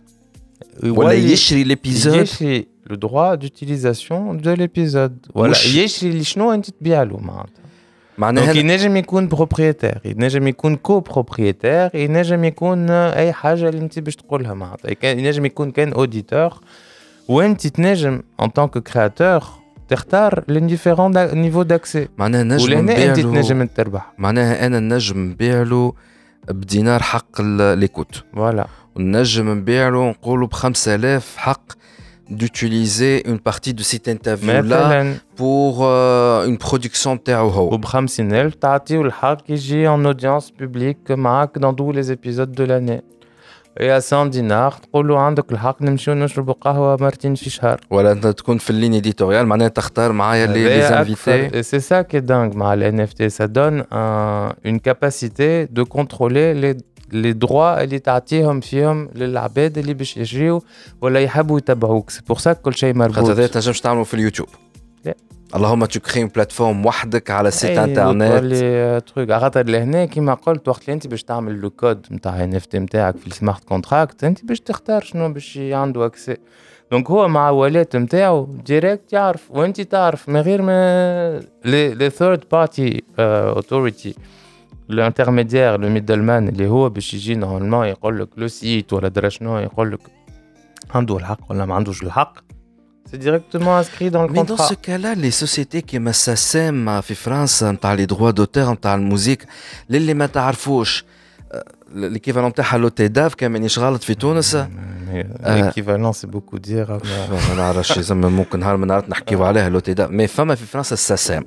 ولا يشري الابيزود. يشري le droit d'utilisation de l'épisode. ولا يشري اللي شنو انت تبيع له معناتها. معناها ينجم يكون بروبريتير ينجم يكون كو بروبريتير ينجم يكون اي حاجه اللي انت باش تقولها معناتها. ينجم يكون كان اوديتور وانت تنجم en tant que créateur تختار les différents niveaux d'accès. معناها نجم نبيع له تنجم تربح. معناها انا نجم نبيع له بدينار حق ليكوت فوالا ونجم نبيع له نقولوا ب خمسة آلاف حق d'utiliser une partie de cet interview là pour euh, une production نتاعو هو. وب خمسين ألف تعطيه الحق يجي en audience publique معك dans tous les épisodes de l'année. يا cent دينار تقولوا عندك الحق نمشيو نشربوا قهوه مرتين في شهر. ولا انت تكون في اللين اديتوريال معناها تختار معايا لي انفيتي. سي سا كي دانغ مع الان اف تي. ça donne un, une capacité de contrôler les les droits اللي تعطيهم فيهم للعباد اللي باش يجريوا ولا يحبوا يتبعوك. سي بور سا كل شيء مربوط. خاطر هذا تنجمش تعملوا في اليوتيوب. لا اللهم تكري بلاتفورم وحدك على سيت انترنت لي تروك. خاطر لهنا كيما قلت وقت اللي انت باش تعمل لو كود نتاع ان اف تي نتاعك في السمارت كونتراكت انت باش تختار شنو باش عنده اكسي. دونك هو مع واليت نتاعو ديريكت يعرف وانت تعرف من غير ما لي لي ثيرد بارتي اوثوريتي الانترميديير لو ميدلمان اللي هو باش يجي نورمالمون يقول لك لو سيت ولا درا شنو يقول لك عنده الحق ولا ما عندوش الحق. C'est directement inscrit dans le Mais contrat. dans ce cas-là, les sociétés qui ما ساسم في فرنسا نتاع لي دروا دوتور نتاع الموسيقى للي ما تعرفوش l'équivalent تاعها لو تيداف كان مانيش غلط في تونس. l'équivalent c'est beaucoup dire. ما نعرفش زعما ممكن نهار من نهارات نحكيو عليها لو تيداف. مي فما في فرنسا الساسم.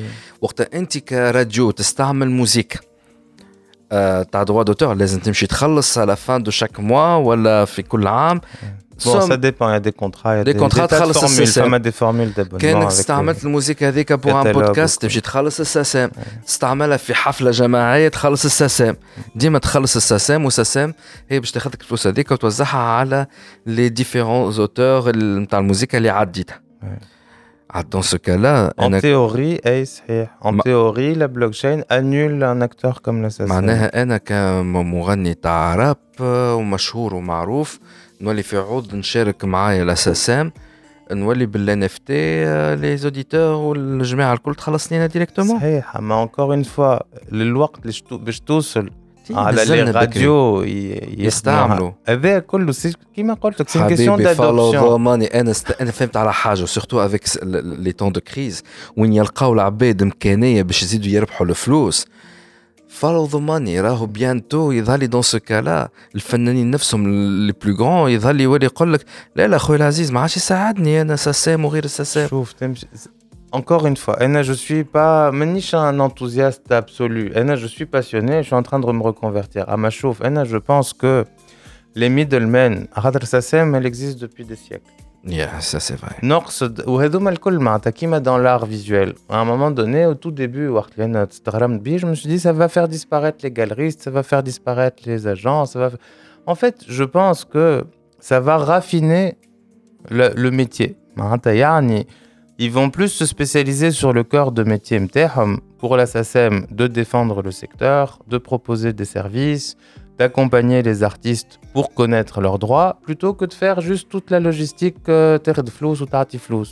وقت انت كراديو تستعمل موسيقى تاع دروا دوتور لازم تمشي تخلص على فان دو شاك موا ولا في كل عام Bon, ça dépend, il y a des contrats, il y a des, des, contrats des tas de تخلص formules, الساسام. فما des formules d'abonnement. كانك avec استعملت les- الموسيقى هذيك بور ان catalogue بودكاست وكل. تمشي تخلص الساسام، تستعملها في حفله جماعيه تخلص الساسام، ديما تخلص الساسام، والساسام هي باش تاخذ الفلوس هذيك وتوزعها على لي ديفيرون زوتور نتاع الموسيقى اللي عديتها. Dans ce cas-là, En théorie, أي صحيح. En Ma- théorie, la blockchain annule un acteur comme l'assassin. معناها أنا كمغني تاع راب ومشهور ومعروف نولي في عوض نشارك معايا الأساسام نولي بالان اف تي لي زوديتور والجماعة الكل تخلصني أنا ديريكتومون. صحيح. ما encore une fois الوقت اللي شتو- باش توصل على لي نزلنا بكري. راديو ي- يستعملوا. هذا كله سي كيما قلت لك سي كيسيون حبيبي فولو دادوبسيون. ماني انا است... انا فهمت على حاجه سورتو افيك لي طون دو كريز وين يلقاو العباد امكانيه باش يزيدوا يربحوا الفلوس. فولو ذا ماني راهو بيانتو يظهر لي دون سو كالا الفنانين نفسهم لي بلو غران يظهر لي يولي يقول لك لا لا خويا العزيز ما عادش يساعدني انا ساسام وغير الساسام. شوف تمشي encore une fois انا je suis pas مانيش un enthousiaste absolu. انا je suis passionné, je suis en train de me reconvertir. اما شوف انا je pense que les middlemen خاطر ساسام elle existe depuis des siècles. يا سا سي فري. نقصد وهذوما الكل معناتها كيما dans l'art visuel. À un moment donné au tout début وقت اللي انا استغرمت بيه je me suis dit ça va faire disparaître les galeristes, ça va faire disparaître les agents, ça va en fait je pense que ça va raffiner le, le métier. معناتها يعني ils vont plus se spécialiser sur le cœur de métier متاعهم pour la S A C E M de défendre le secteur, de proposer des services, d'accompagner les artistes pour connaître leurs droits, plutôt que de faire juste toute la logistique terre de flous ou tati flous.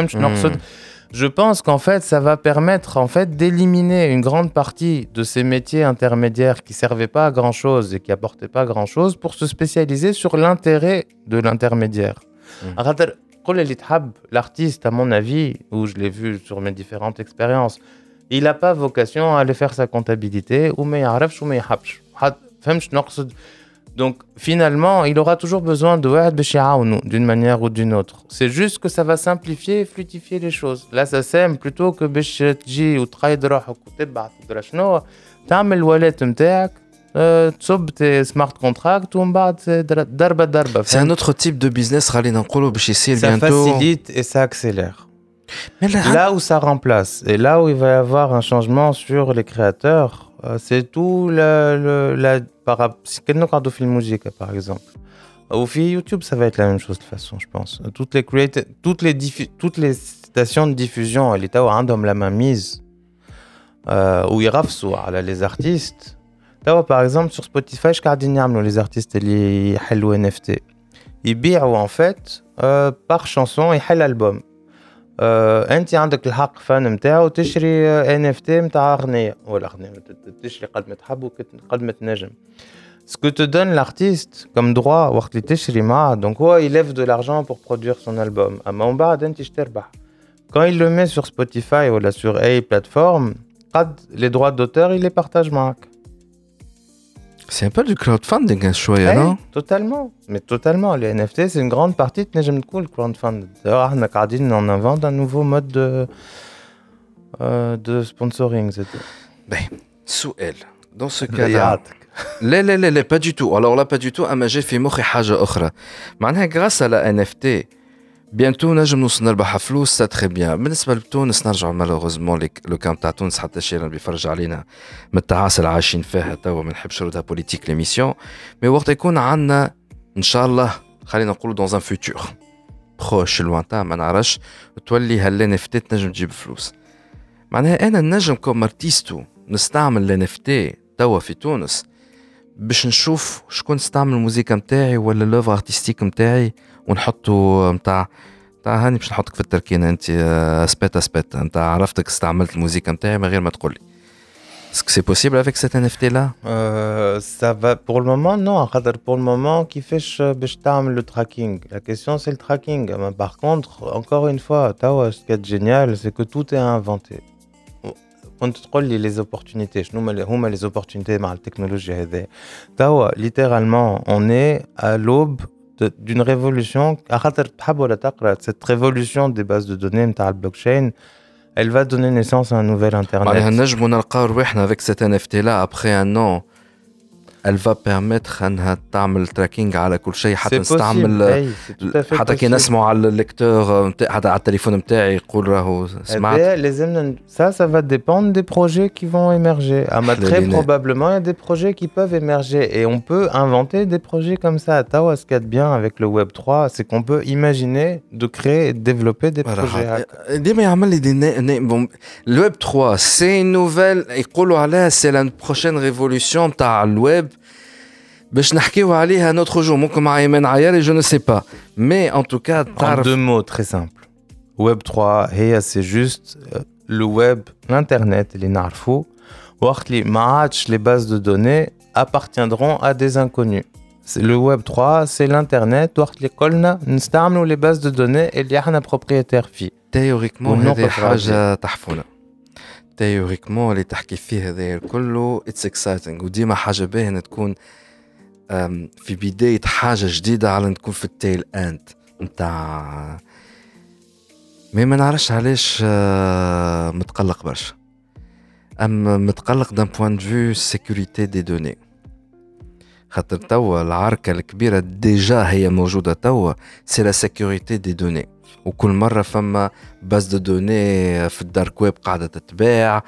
Je pense qu'en fait, ça va permettre en fait d'éliminer une grande partie de ces métiers intermédiaires qui servaient pas à grand chose et qui apportaient pas grand chose pour se spécialiser sur l'intérêt de l'intermédiaire. Mm. L'artiste, à mon avis, où je l'ai vu sur mes différentes expériences, il n'a pas vocation à aller faire sa comptabilité ou mais ou mais donc finalement, il aura toujours besoin de d'une manière ou d'une autre. C'est juste que ça va simplifier et fluidifier les choses. Là, ça sème plutôt que باش تجي وتخيد روحك وتبعث تدرى شنو تعمل الوالات نتاعك تصب تي سمارت كونتراكت ومن بعد ضربه ضربه. C'est un autre type de business خلينا نقولوا باش يصير bientôt. Ça facilite et ça accélère. Mais là, là où ça remplace et là où il va y avoir un changement sur les créateurs, c'est tout le, le, la par par exemple. Au YouTube, ça va être la même chose de toute façon, je pense. Toutes les creati- toutes les diffu- toutes les stations de diffusion, l'État a un la main mise euh, où ils rafsou les artistes. Tawa, par exemple, sur Spotify, je garde les artistes les halou N F T. Ils bient en fait euh, par chanson et hal album. انت عندك الحق فان نتاعو تشري ان اف تي نتاع اغنيه ولا اغنيه تشري قد ما تحب وقد ما تنجم. Ce que te donne l'artiste comme droit وقت اللي تشري معاه donc هو il lève de l'argent pour produire son album. اما من بعد انت تربح. Quand il le met sur Spotify ou sur اي plateforme, قد les droits d'auteur il les partage معك. C'est un peu du crowdfunding hein, شويه non? Totalement, mais totalement. Les N F T, c'est une grande partie de نجم تكون crowdfunding. D'ailleurs, on a قاعدين on invente un nouveau mode de euh, de sponsoring. Ben, سؤال. Dans ce cas-là. لا لا لا لا pas du tout. Alors là pas du tout. أما جا في مخي حاجة أخرى. معناها grâce à la N F T, bientôt نجم نوصل نربح فلوس, c'est très bien. بالنسبة لتونس نرجع malheureusement لو كام تاع تونس حتى شيء اللي بيفرج علينا من التعاسة اللي عايشين فيها توا ما نحبش نردها بوليتيك ليميسيون. مي وقت يكون عندنا إن شاء الله خلينا نقولوا dans un futur proche lointain ما نعرفش تولي هال N F T تنجم تجيب فلوس. معناها أنا نجم كوم ارتيستو نستعمل ال N F T توا في تونس باش نشوف شكون استعمل الموسيقى متاعي ولا لوفر ارتستيك متاعي ونحطه متاع تاع هاني باش نحطك في التركينه انت اسبيت اسبيت انت عرفتك استعملت الموسيقى متاعي من غير ما تقول لي. Est-ce que c'est possible avec cet N F T là? euh, Ça va pour le moment non. Pour le moment كيفاش باش تعمل le tracking. La question c'est le tracking. Mais par contre encore une fois, توا ce qui est génial c'est que tout est inventé. كنت تقول لي les opportunités شنو هما les opportunités مع التكنولوجيا هذه. توا littéralement on est à l'aube d'une révolution. خاطر تحب ولا تقرا cette révolution des bases de données نتاع البلوكشين elle va donner naissance à un nouvel internet. معناها نجمو نلقاو رواحنا avec cet N F T là après un an elle va permettre انها تعمل tracking على كل شيء حتى C'est نستعمل possible, hey, c'est tout à fait حتى كي possible. نسمعوا على الليكتور نتاع حتى على التليفون نتاعي يقول راهو Eh سمعت. bien, les M- ça, ça va dépendre des projets qui vont émerger. Ah, mais très Léliné. probablement, il y a des projets qui peuvent émerger. Et on peut inventer des projets comme ça. À Tawa, ce qu'il y a de bien avec le Web trois, c'est qu'on peut imaginer de créer et de développer des projets. راح- ديما يعمل لي دي نا- نا- بون الويب ثلاثة سي نوفيل يقولوا عليها سي لا بروشين ريفولوسيون تاع الويب باش نحكيو عليها نوتر جو ممكن مع ايمان عياري جو نو سي با مي ان توكا En تعرف deux mots très simples. Web trois, هي c'est juste euh, le web, l'internet, les narfou. Ou les match, les bases de données appartiendront à des inconnus. C'est le Web trois, c'est l'internet. Ou les colna, nous les bases de données et les a propriétaire fi. تيوريكمون والنقط هذه حاجه الرئيسية. تحفونه تيوريكمون اللي تحكي فيه هذا كله اتس اكسايتنج وديما حاجه باهيه ان تكون أم، في بدايه حاجه جديده على ان تكون في التيل اند نتاع مي ما نعرفش علاش آه، متقلق برشا اما متقلق دان بوان دو فيو سيكوريتي دي دوني خاطر توا العركه الكبيره ديجا هي موجوده توا سي لا سيكوريتي دي دوني وكل مرة فما باز دو دوني في الدارك ويب قاعدة تتباع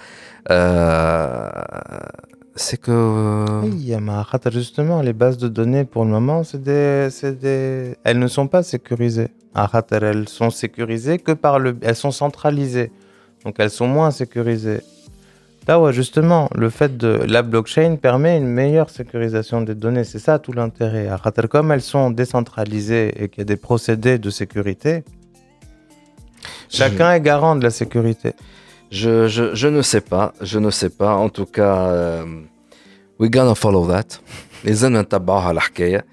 سي كو Oui, mais khater, justement, les bases de données, pour le moment, c'est des, c'est des... elles ne sont pas sécurisées. Ah, khater, elles sont sécurisées que par le... Elles sont centralisées. Donc, elles sont moins sécurisées. Là, ouais, justement, le fait de... La blockchain permet une meilleure sécurisation des données. C'est ça tout l'intérêt. Ah, khater, comme elles sont décentralisées et qu'il y a des procédés de sécurité, chacun est garant de la sécurité. je, je, je ne sais pas je ne sais pas en tout cas euh, we gonna follow that لازم نتبعوها الحكاية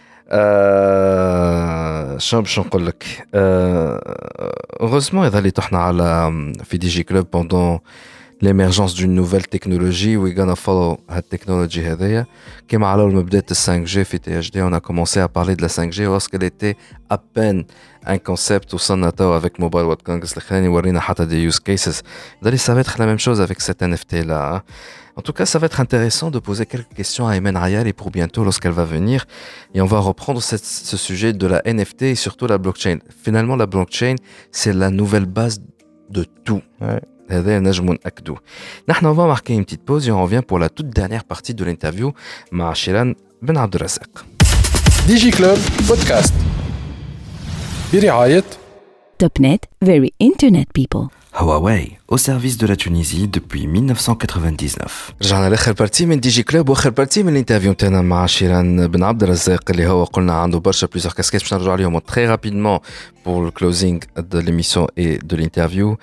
أه... شنو باش نقول لك heureusement يظهر لي طحنا على في دي جي كلوب pendant l'émergence d'une nouvelle technologie we gonna follow هالتكنولوجي هذيا كما على لما بدات ال فايف جي في تي اتش دي on a commencé à parler de la فايف جي lorsqu'elle était à peine un concept وصلنا توا avec Mobile World Congress الأخراني ورينا حتى des use cases d'ailleurs ça va être la même chose avec cet N F T là hein. En tout cas, ça va être intéressant de poser quelques questions à Ayman Ayari pour bientôt lorsqu'elle va venir. Et on va reprendre cette, ce sujet de la N F T et surtout la blockchain. Finalement, la blockchain, c'est la nouvelle base de tout. Ouais. هذا نجم نأكدوه. نحن on va marquer une petite pause et on revient pour la toute dernière partie de l'interview مع شيران بن عبد الرزاق. ديجي كلوب بودكاست برعاية Topnet, very internet people. Huawei, au service de la Tunisie depuis mille neuf cent quatre-vingt-dix-neuf. رجعنا لاخر بارتي من دي جي كلوب واخر بارتي من الانترفيو نتاعنا مع شيران بن عبد الرزاق اللي هو قلنا عنده برشا بليزيور كاسكيت باش نرجعوا عليهم très rapidement pour le closing de l'émission et de l'interview.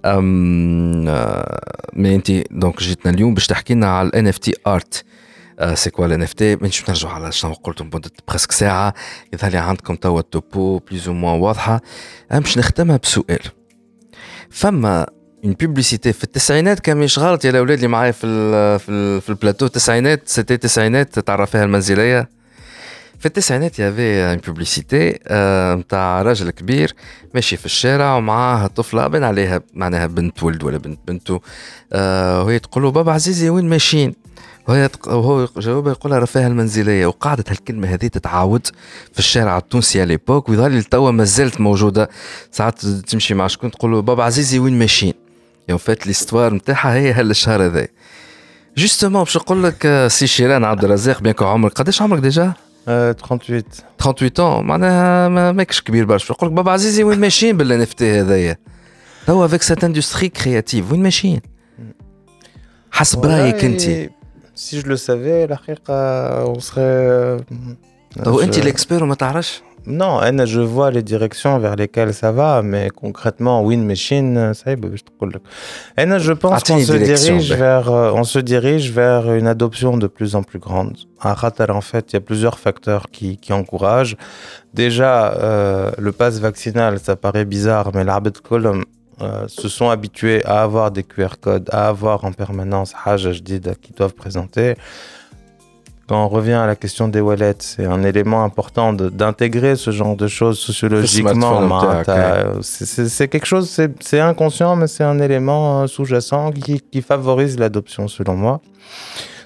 مي انت دونك جيتنا اليوم باش تحكي لنا على ال إن إف تي art. سي كوا ال إن إف تي باش نرجعوا على شنو قلتم مدة برسك ساعة يظهر لي عندكم توا التوبو بليز او موان واضحة. باش نختمها بسؤال. فما une publicité في التسعينات كان مش غلط يا الاولاد اللي معايا في ال في ال في البلاتو التسعينات سيتي التسعينات تعرف فيها المنزليه في التسعينات يافي une publicité نتاع راجل كبير ماشي في الشارع ومعاه طفله بين عليها معناها بنت ولد ولا بنت بنته وهي تقول له بابا عزيزي وين ماشيين وهي وهو جاوبها يقول لها رفاها المنزليه وقعدت هالكلمه هذه تتعاود في الشارع التونسي على ليبوك ويظهر لي توا ما زالت موجوده ساعات تمشي مع شكون تقول له بابا عزيزي وين ماشيين يوم فات ليستوار نتاعها هي هالشهر هذا جوستومون باش نقول لك سي شيران عبد الرزاق بيان كو عمرك قداش عمرك ديجا trente-huit ثمانية وثلاثين معناها ما ماكش كبير برشا نقول لك بابا عزيزي وين ماشيين بالان اف تي هذايا توا افيك سات اندستري كرياتيف وين ماشيين حسب رايك انت Si je le savais, la on serait. تو انت الاكسبير وما تعرفش Non, je vois les directions vers lesquelles ça va, mais concrètement, Win Machine, ça y est, je te dis. Je pense qu'on se dirige vers, on se dirige vers une adoption de plus en plus grande. À Qatar, en fait, il y a plusieurs facteurs qui, qui encouragent. Déjà, euh, le pass vaccinal, ça paraît bizarre, mais l'arbitre column euh, se sont habitués à avoir des Q R codes, à avoir en permanence Haja Jdida qui doivent présenter. Quand on revient à la question des wallets, c'est un élément important de, d'intégrer ce genre de choses sociologiquement. C'est, c'est quelque chose, c'est, c'est inconscient, mais c'est un élément sous-jacent qui, qui favorise l'adoption, selon moi.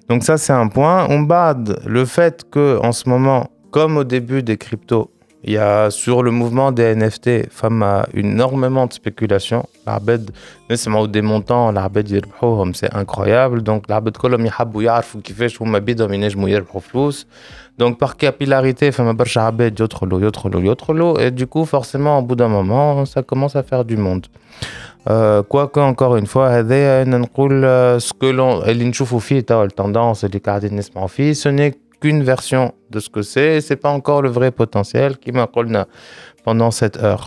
Donc ça, c'est un point. On bade le fait qu'en ce moment, comme au début des cryptos, il y a sur le mouvement des N F T, femme a énormément de spéculation. L'arbed, notamment des montants, l'arbed يربحوهم, c'est incroyable. Donc l'arbed كلهم يحبوا يعرفوا كيفاش هما بيدهم ينجموا يربحوا فلوس. Donc par capillarité, femme برشا عباد يدخلوا يدخلوا يدخلوا et du coup forcément au bout d'un moment, ça commence à faire du monde. Euh, quoique encore une fois هذا نقول ce que l'on اللي نشوفوا فيه تاع التendance اللي قاعدين نسمعوا فيه, ce n'est qu'une version de ce que c'est, c'est pas encore le vrai potentiel qui m'a قلنا pendant cette heure.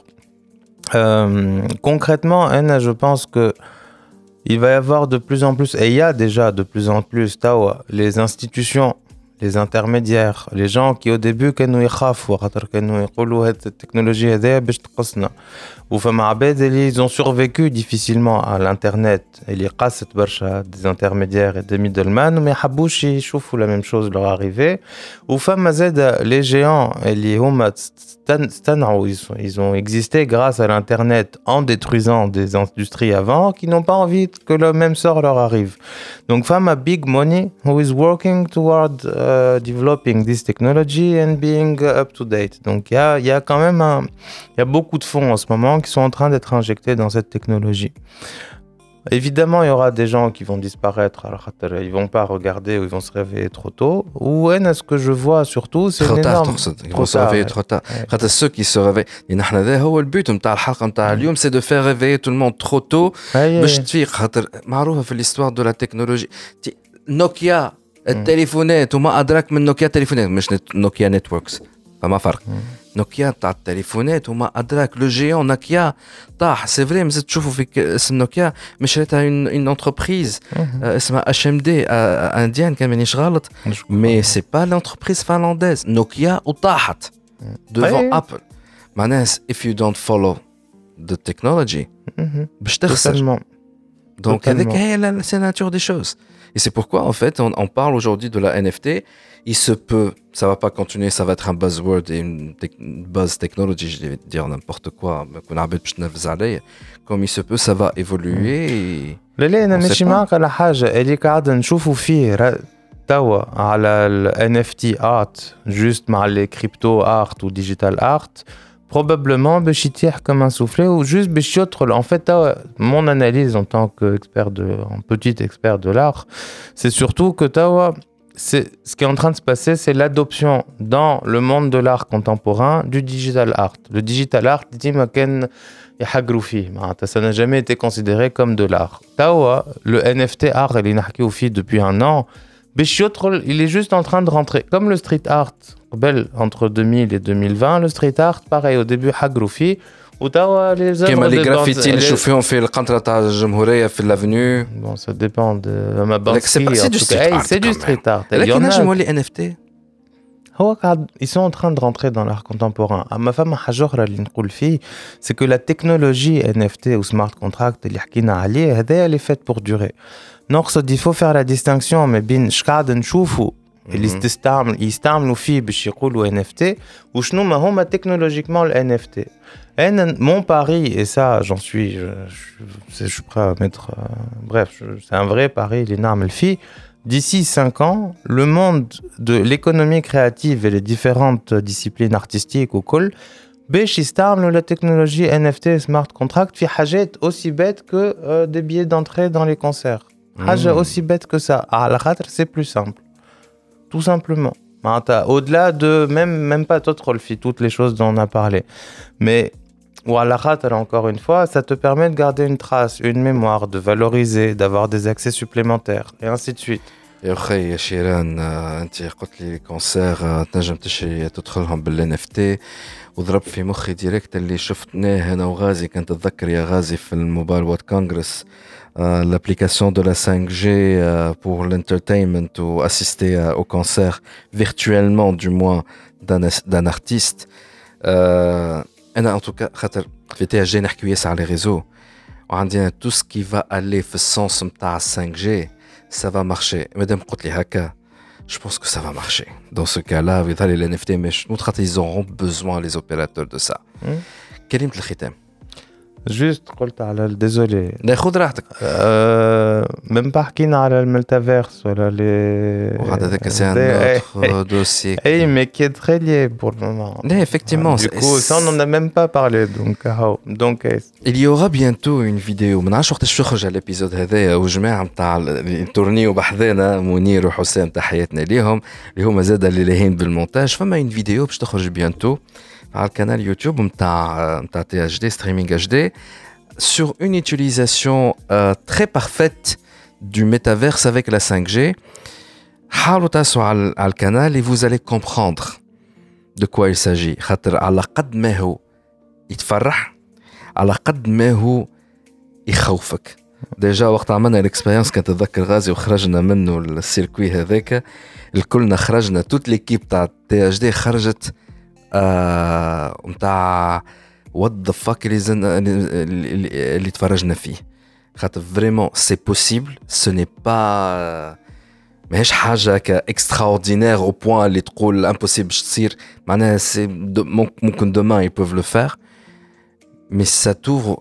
Euh, concrètement, Anna, je pense que il va y avoir de plus en plus, et il y a déjà de plus en plus, tawa, les institutions, les intermédiaires, les gens qui au début كانوا يخافوا خاطر كانوا يقولوا هاد التكنولوجيا هذه باش تقصنا وفما عباد اللي ils ont survécu difficilement à l'internet اللي قاست برشا des intermédiaires et des middlemen وما يحبوش يشوفوا la même chose leur arriver وفما زاد les géants اللي هما استنعوا ils ont existé grâce à l'internet en détruisant des industries avant qui n'ont pas envie que le même sort leur arrive. Donc fama big money who is working toward uh, developing this technology and being uh, up to date. Donc il y a il y a quand même un il y a beaucoup de fonds en ce moment qui sont en train d'être injectés dans cette technologie. Évidemment, il y aura des gens qui vont disparaître, alors ils vont pas regarder ou ils vont se réveiller trop tôt. Ou est-ce que je vois surtout, c'est trop une tard, énorme... ils vont se réveiller trop tard. خاطر ceux qui se réveillent, نحن هذا هو البيت نتاع الحلقة نتاع اليوم, c'est de faire réveiller tout le monde trop tôt باش تفيق. خاطر معروفة في l'histoire de la technologie. نوكيا التليفونات وما أدراك من نوكيا تليفونات, مش نوكيا نتوركس, فما فرق. نوكيا تاع التليفونات وما أدراك, لو جيون نوكيا طاح. سي فري مازلت تشوفوا في اسم نوكيا مش ريتها اون انتربريز اسمها اش ام دي انديان كان مانيش غلط, مي سي با لونتربريز فنلنديز. نوكيا وطاحت devant ابل. معناها if you don't follow the technology باش تخسر. Donc هذيك هي la nature des choses. Et c'est pourquoi en fait on, on parle aujourd'hui de la N F T. Il se peut, ça va pas continuer, ça va être un buzzword et une, te- une buzz technology, je vais dire n'importe quoi, comme il se peut, ça va évoluer. Et لا لا انا ماشي معاك على حاجه اللي قاعد نشوفوا فيه توا على ال N F T art juste مع les crypto art ou digital art probablement باش يتيح comme un soufflet ou juste باش يدخل. En fait توا mon analyse en tant qu'expert de en petit expert de l'art, c'est surtout que توا c'est ce qui est en train de se passer, c'est l'adoption dans le monde de l'art contemporain du digital art. Le digital art, ديما كان يحقروا فيه, معناتها ça n'a jamais été considéré comme de l'art. توا le N F T art اللي نحكيو فيه depuis un an, باش يدخل, il est juste en train de rentrer comme le street art قبل entre deux mille et deux mille vingt. Le street art pareil au début حقروا فيه وتوا les œuvres كما de les graffitis اللي les... نشوفوهم في القنطرة تاع الجمهورية في l'Avenue. Bon, ça dépend de ma banque. C'est, pas, c'est du street hey, art. C'est du street art. Il y en a les N F T. Ils sont en train de rentrer dans l'art contemporain. Ma femme حاجة اللي نقول فيه, c'est que la technologie N F T ou smart contract اللي حكينا عليه هذا elle est faite pour durer. نقصد il faut faire la distinction mais بين اش قاعد نشوفوا اللي يستعمل يستعملوا فيه باش يقولوا N F T وشنو ما هما technologiquement le N F T. Et mon pari, et ça j'en suis, je, je, je suis prêt à mettre, euh, bref, je, c'est un vrai pari, l'énorme fille. D'ici cinq ans, le monde de l'économie créative et les différentes disciplines artistiques au col, باش يستعملوا la technologie N F T smart contract في حاجات aussi bêtes que euh, des billets d'entrée dans les concerts. حاجة aussi bête que ça. على خاطر c'est plus simple, tout simplement. Au-delà de même même pas d'autres toutes les choses dont on a parlé, mais ou à la rate, encore une fois, ça te permet de garder une trace, une mémoire, de valoriser, d'avoir des accès supplémentaires, et ainsi de suite. يا أخي يا شيران, أنت قلت لي كونسير تنجم تشري تدخلهم بالان اف تي, وضرب في مخي ديريكت اللي شفتناه أنا وغازي. كنت تتذكر يا غازي في الموبايل وورد كونغرس l'application de la cinq G pour l'entertainment ou assister au concert virtuellement du moins d'un, d'un artiste. أنا en tout cas خاطر في تي جي نحكي ياسر على les réseaux وعندنا tout ce qui va aller في السنس متاع cinq G, ça va marcher. مادام قلت لي هكا, je pense que ça va marcher. Dans ce cas-là, ويظهر لي ال N F T مش خاطر ils auront besoin les opérateurs de ça. كلمة الختام. Juste قلت على désolé. لا خذ راحتك. même pas حكينا على الميتافيرس ولا les. وهذا ذاك c'est un autre dossier. Eh mais qui est très lié pour le moment. لا effectivement. Du coup ça on n'en a même pas parlé donc donc. Il y aura bientôt une vidéo. ما نعرفش وقتاش تخرج على الابيزود هذايا وجماعه نتاع التورنيو بحذانا منير وحسام تحياتنا ليهم اللي هما زاد اللي لاهين بالمونتاج. فما une vidéo باش تخرج bientôt على القناه يوتيوب نتاع نتاع تي اتش دي ستريمينغ اتش دي sur une utilisation euh, très parfaite du métaverse avec la cinq G. حاولوا تاسوا على على القناه et vous allez comprendre de quoi il s'agit. خاطر على قد ما هو يتفرح على قد ما هو يخوفك. ديجا وقت عملنا الاكسبيرينس كنت اتذكر غازي وخرجنا منه السيركوي هذاك الكلنا خرجنا توت ليكيب تاع تي اتش دي خرجت نتاع وات ذا فاك اللي اللي تفرجنا فيه. خاطر فريمون سي بوسيبل سو ني با ماهيش حاجه كاكستراوردينير او بوين اللي تقول امبوسيبل باش تصير. معناها سي ممكن دومان يبوف لو فير مي سا توفر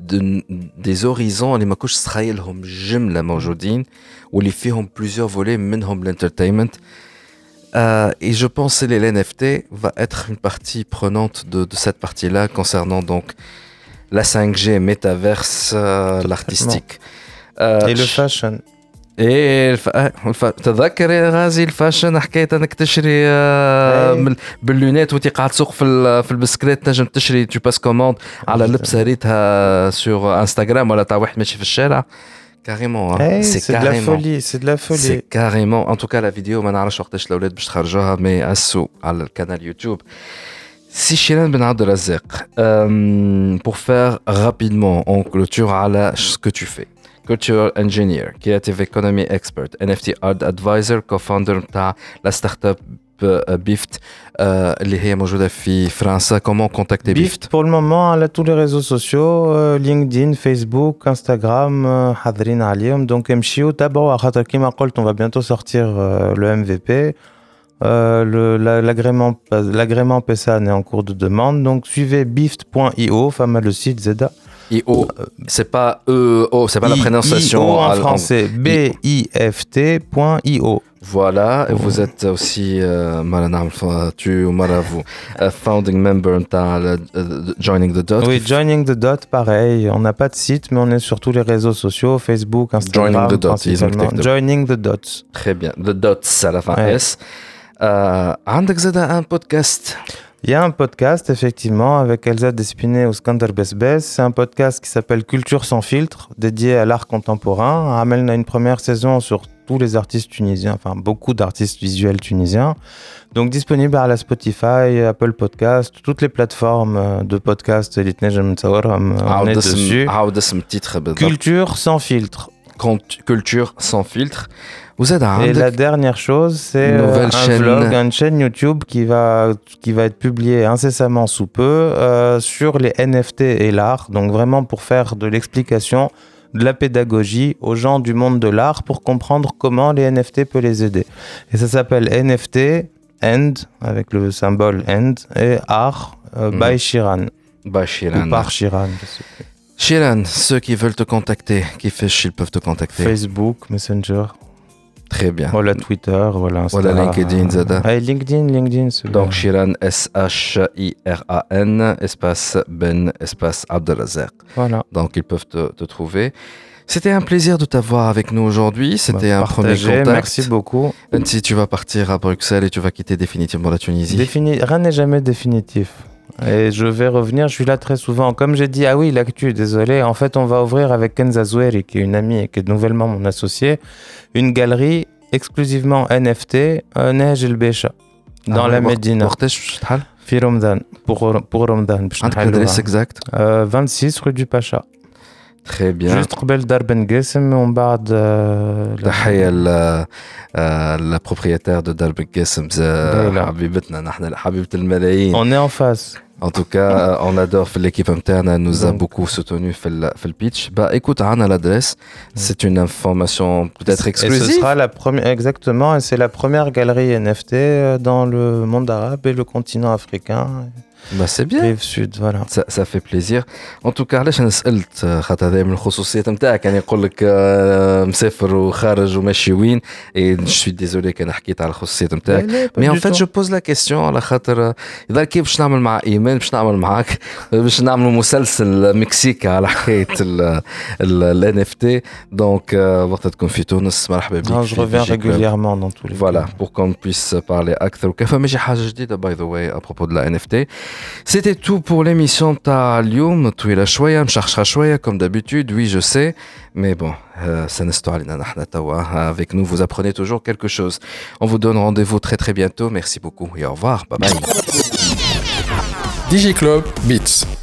دي هوريزون اللي ما كنتش تخيلهم جمله موجودين واللي فيهم بليزيور فولي منهم الانترتينمنت. Euh, et je pense que l'N F T va être une partie prenante de, de cette partie-là concernant donc la cinq G, métaverse, euh, l'artistique. Euh, et le fashion. Et تذكر يا غازي الفاشن حكاية انك تشري باللونات وانت قاعد تسوق في في البسكليت تنجم تشري tu passes commande على لبسة ريتها sur انستغرام ولا تاع واحد ماشي في الشارع. Carrément, hein. Hey, c'est, c'est carrément. de la folie, c'est de la folie. C'est carrément. En tout cas, la vidéo, ما نعرفش وقتاش الأولاد باش تخرجوها mais أسو على القناة يوتيوب. Si Shiran Ben Abdelrazak, euh, pour faire rapidement, on clôture على ce que tu fais. Cultural engineer, creative economy expert, N F T art advisor, co-founder تاع la startup Bift اللي هي موجودة في فرنسا. Comment contacter Bift? Bift pour le moment على tous les réseaux sociaux, LinkedIn, Facebook, Instagram, حاضرين عليهم. Donc امشيو تابعوا خاطر كيما قلت on va bientôt sortir le M V P. Euh, le, la, l'agrément, l'agrément P S A est en cours de demande. Donc suivez bift point i o, femme le site Zeda. I O, c'est pas E O, c'est pas I, la prononciation I O en français. B I F T point I O. Voilà, et vous êtes aussi Maranam, tu ou Maravu, founding member de Joining the Dot. Oui, Joining the Dot, pareil. On n'a pas de site, mais on est sur tous les réseaux sociaux, Facebook, Instagram. Joining the Dot, Joining the Dot. Très bien, the Dots à la fin ouais. S. عندك زاد un podcast. Il y a un podcast, effectivement, avec Elsa Despiné ou Skander Besbes. C'est un podcast qui s'appelle Culture sans filtre, dédié à l'art contemporain. Amel a une première saison sur tous les artistes tunisiens, enfin beaucoup d'artistes visuels tunisiens. Donc disponible à la Spotify, Apple Podcast, toutes les plateformes de podcast. On est dessus. Culture sans filtre. Culture sans filtre. Et la dernière chose, c'est un chaîne... vlog, une chaîne YouTube qui va, qui va être publiée incessamment sous peu euh, sur les N F T et l'art. Donc vraiment pour faire de l'explication, de la pédagogie aux gens du monde de l'art pour comprendre comment les N F T peuvent les aider. Et ça s'appelle N F T, End, avec le symbole End, et Art euh, by mmh. Shiran. By Shiran. Ou par Shiran. Shiran, ceux qui veulent te contacter, qui fichent, ils peuvent te contacter. Facebook, Messenger. Très bien. Voilà Twitter, voilà Instagram. Voilà LinkedIn, Zada. Ah, LinkedIn, LinkedIn. Donc Shiran, S H I R A N, espace Ben, espace Abdelrazak. Voilà. Donc ils peuvent te, te trouver. C'était un plaisir de t'avoir avec nous aujourd'hui. C'était bah, un premier contact. Merci beaucoup. Même si tu vas partir à Bruxelles et tu vas quitter définitivement la Tunisie. Défini... Rien n'est jamais définitif. Et je vais revenir, je suis là très souvent. Comme j'ai dit, ah oui, l'actu, désolé. En fait, on va ouvrir avec Kenza Zoueri, qui est une amie et qui est nouvellement mon associé, une galerie exclusivement N F T, euh, Nej El Becha, dans ah, la Médina. Fi Ramadan, pour, pour Ramadan. L'adresse exacte euh, vingt-six rue du Pacha. Très bien. Juste قبل دار بن قاسم ومن بعد تحية la propriétaire de دار بن قاسم حبيبتنا نحن حبيبة الملايين. On est en face. En tout cas, on adore l'équipe interne, elle nous a beaucoup soutenu fait le, fait le pitch. Bah écoute, on a l'adresse, c'est une information peut-être exclusive. Et ce sera la première, exactement, et c'est la première galerie N F T dans le monde arabe et le continent africain. Bah c'est bien. Rive sud, voilà. Ça, ça fait plaisir. En tout cas, علاش انا سالت خاطر هذا من الخصوصيات نتاعك يعني يقول لك مسافر وخارج وماشي وين et je suis désolé كان حكيت على الخصوصيات نتاعك. Mais en fait, je pose la question على خاطر اذا كيف باش نعمل مع ايمان باش نعمل معاك باش نعملوا مسلسل مكسيكي على حكايه ال إن إف تي. Donc وقت تكون في تونس مرحبا بك. Je reviens régulièrement dans tous les cas. Voilà, pour qu'on puisse parler أكثر وكيف ماشي حاجة جديدة by the way à propos de la إن إف تي. C'était tout pour l'émission تاع اليوم. طويلة شوية مشخشخة شوية comme d'habitude, oui je sais, mais bon, ça نستو علينا نحن توا. Avec nous, vous apprenez toujours quelque chose. On vous donne rendez-vous très très bientôt. Merci beaucoup et au revoir. Bye bye. DigiClub Beats.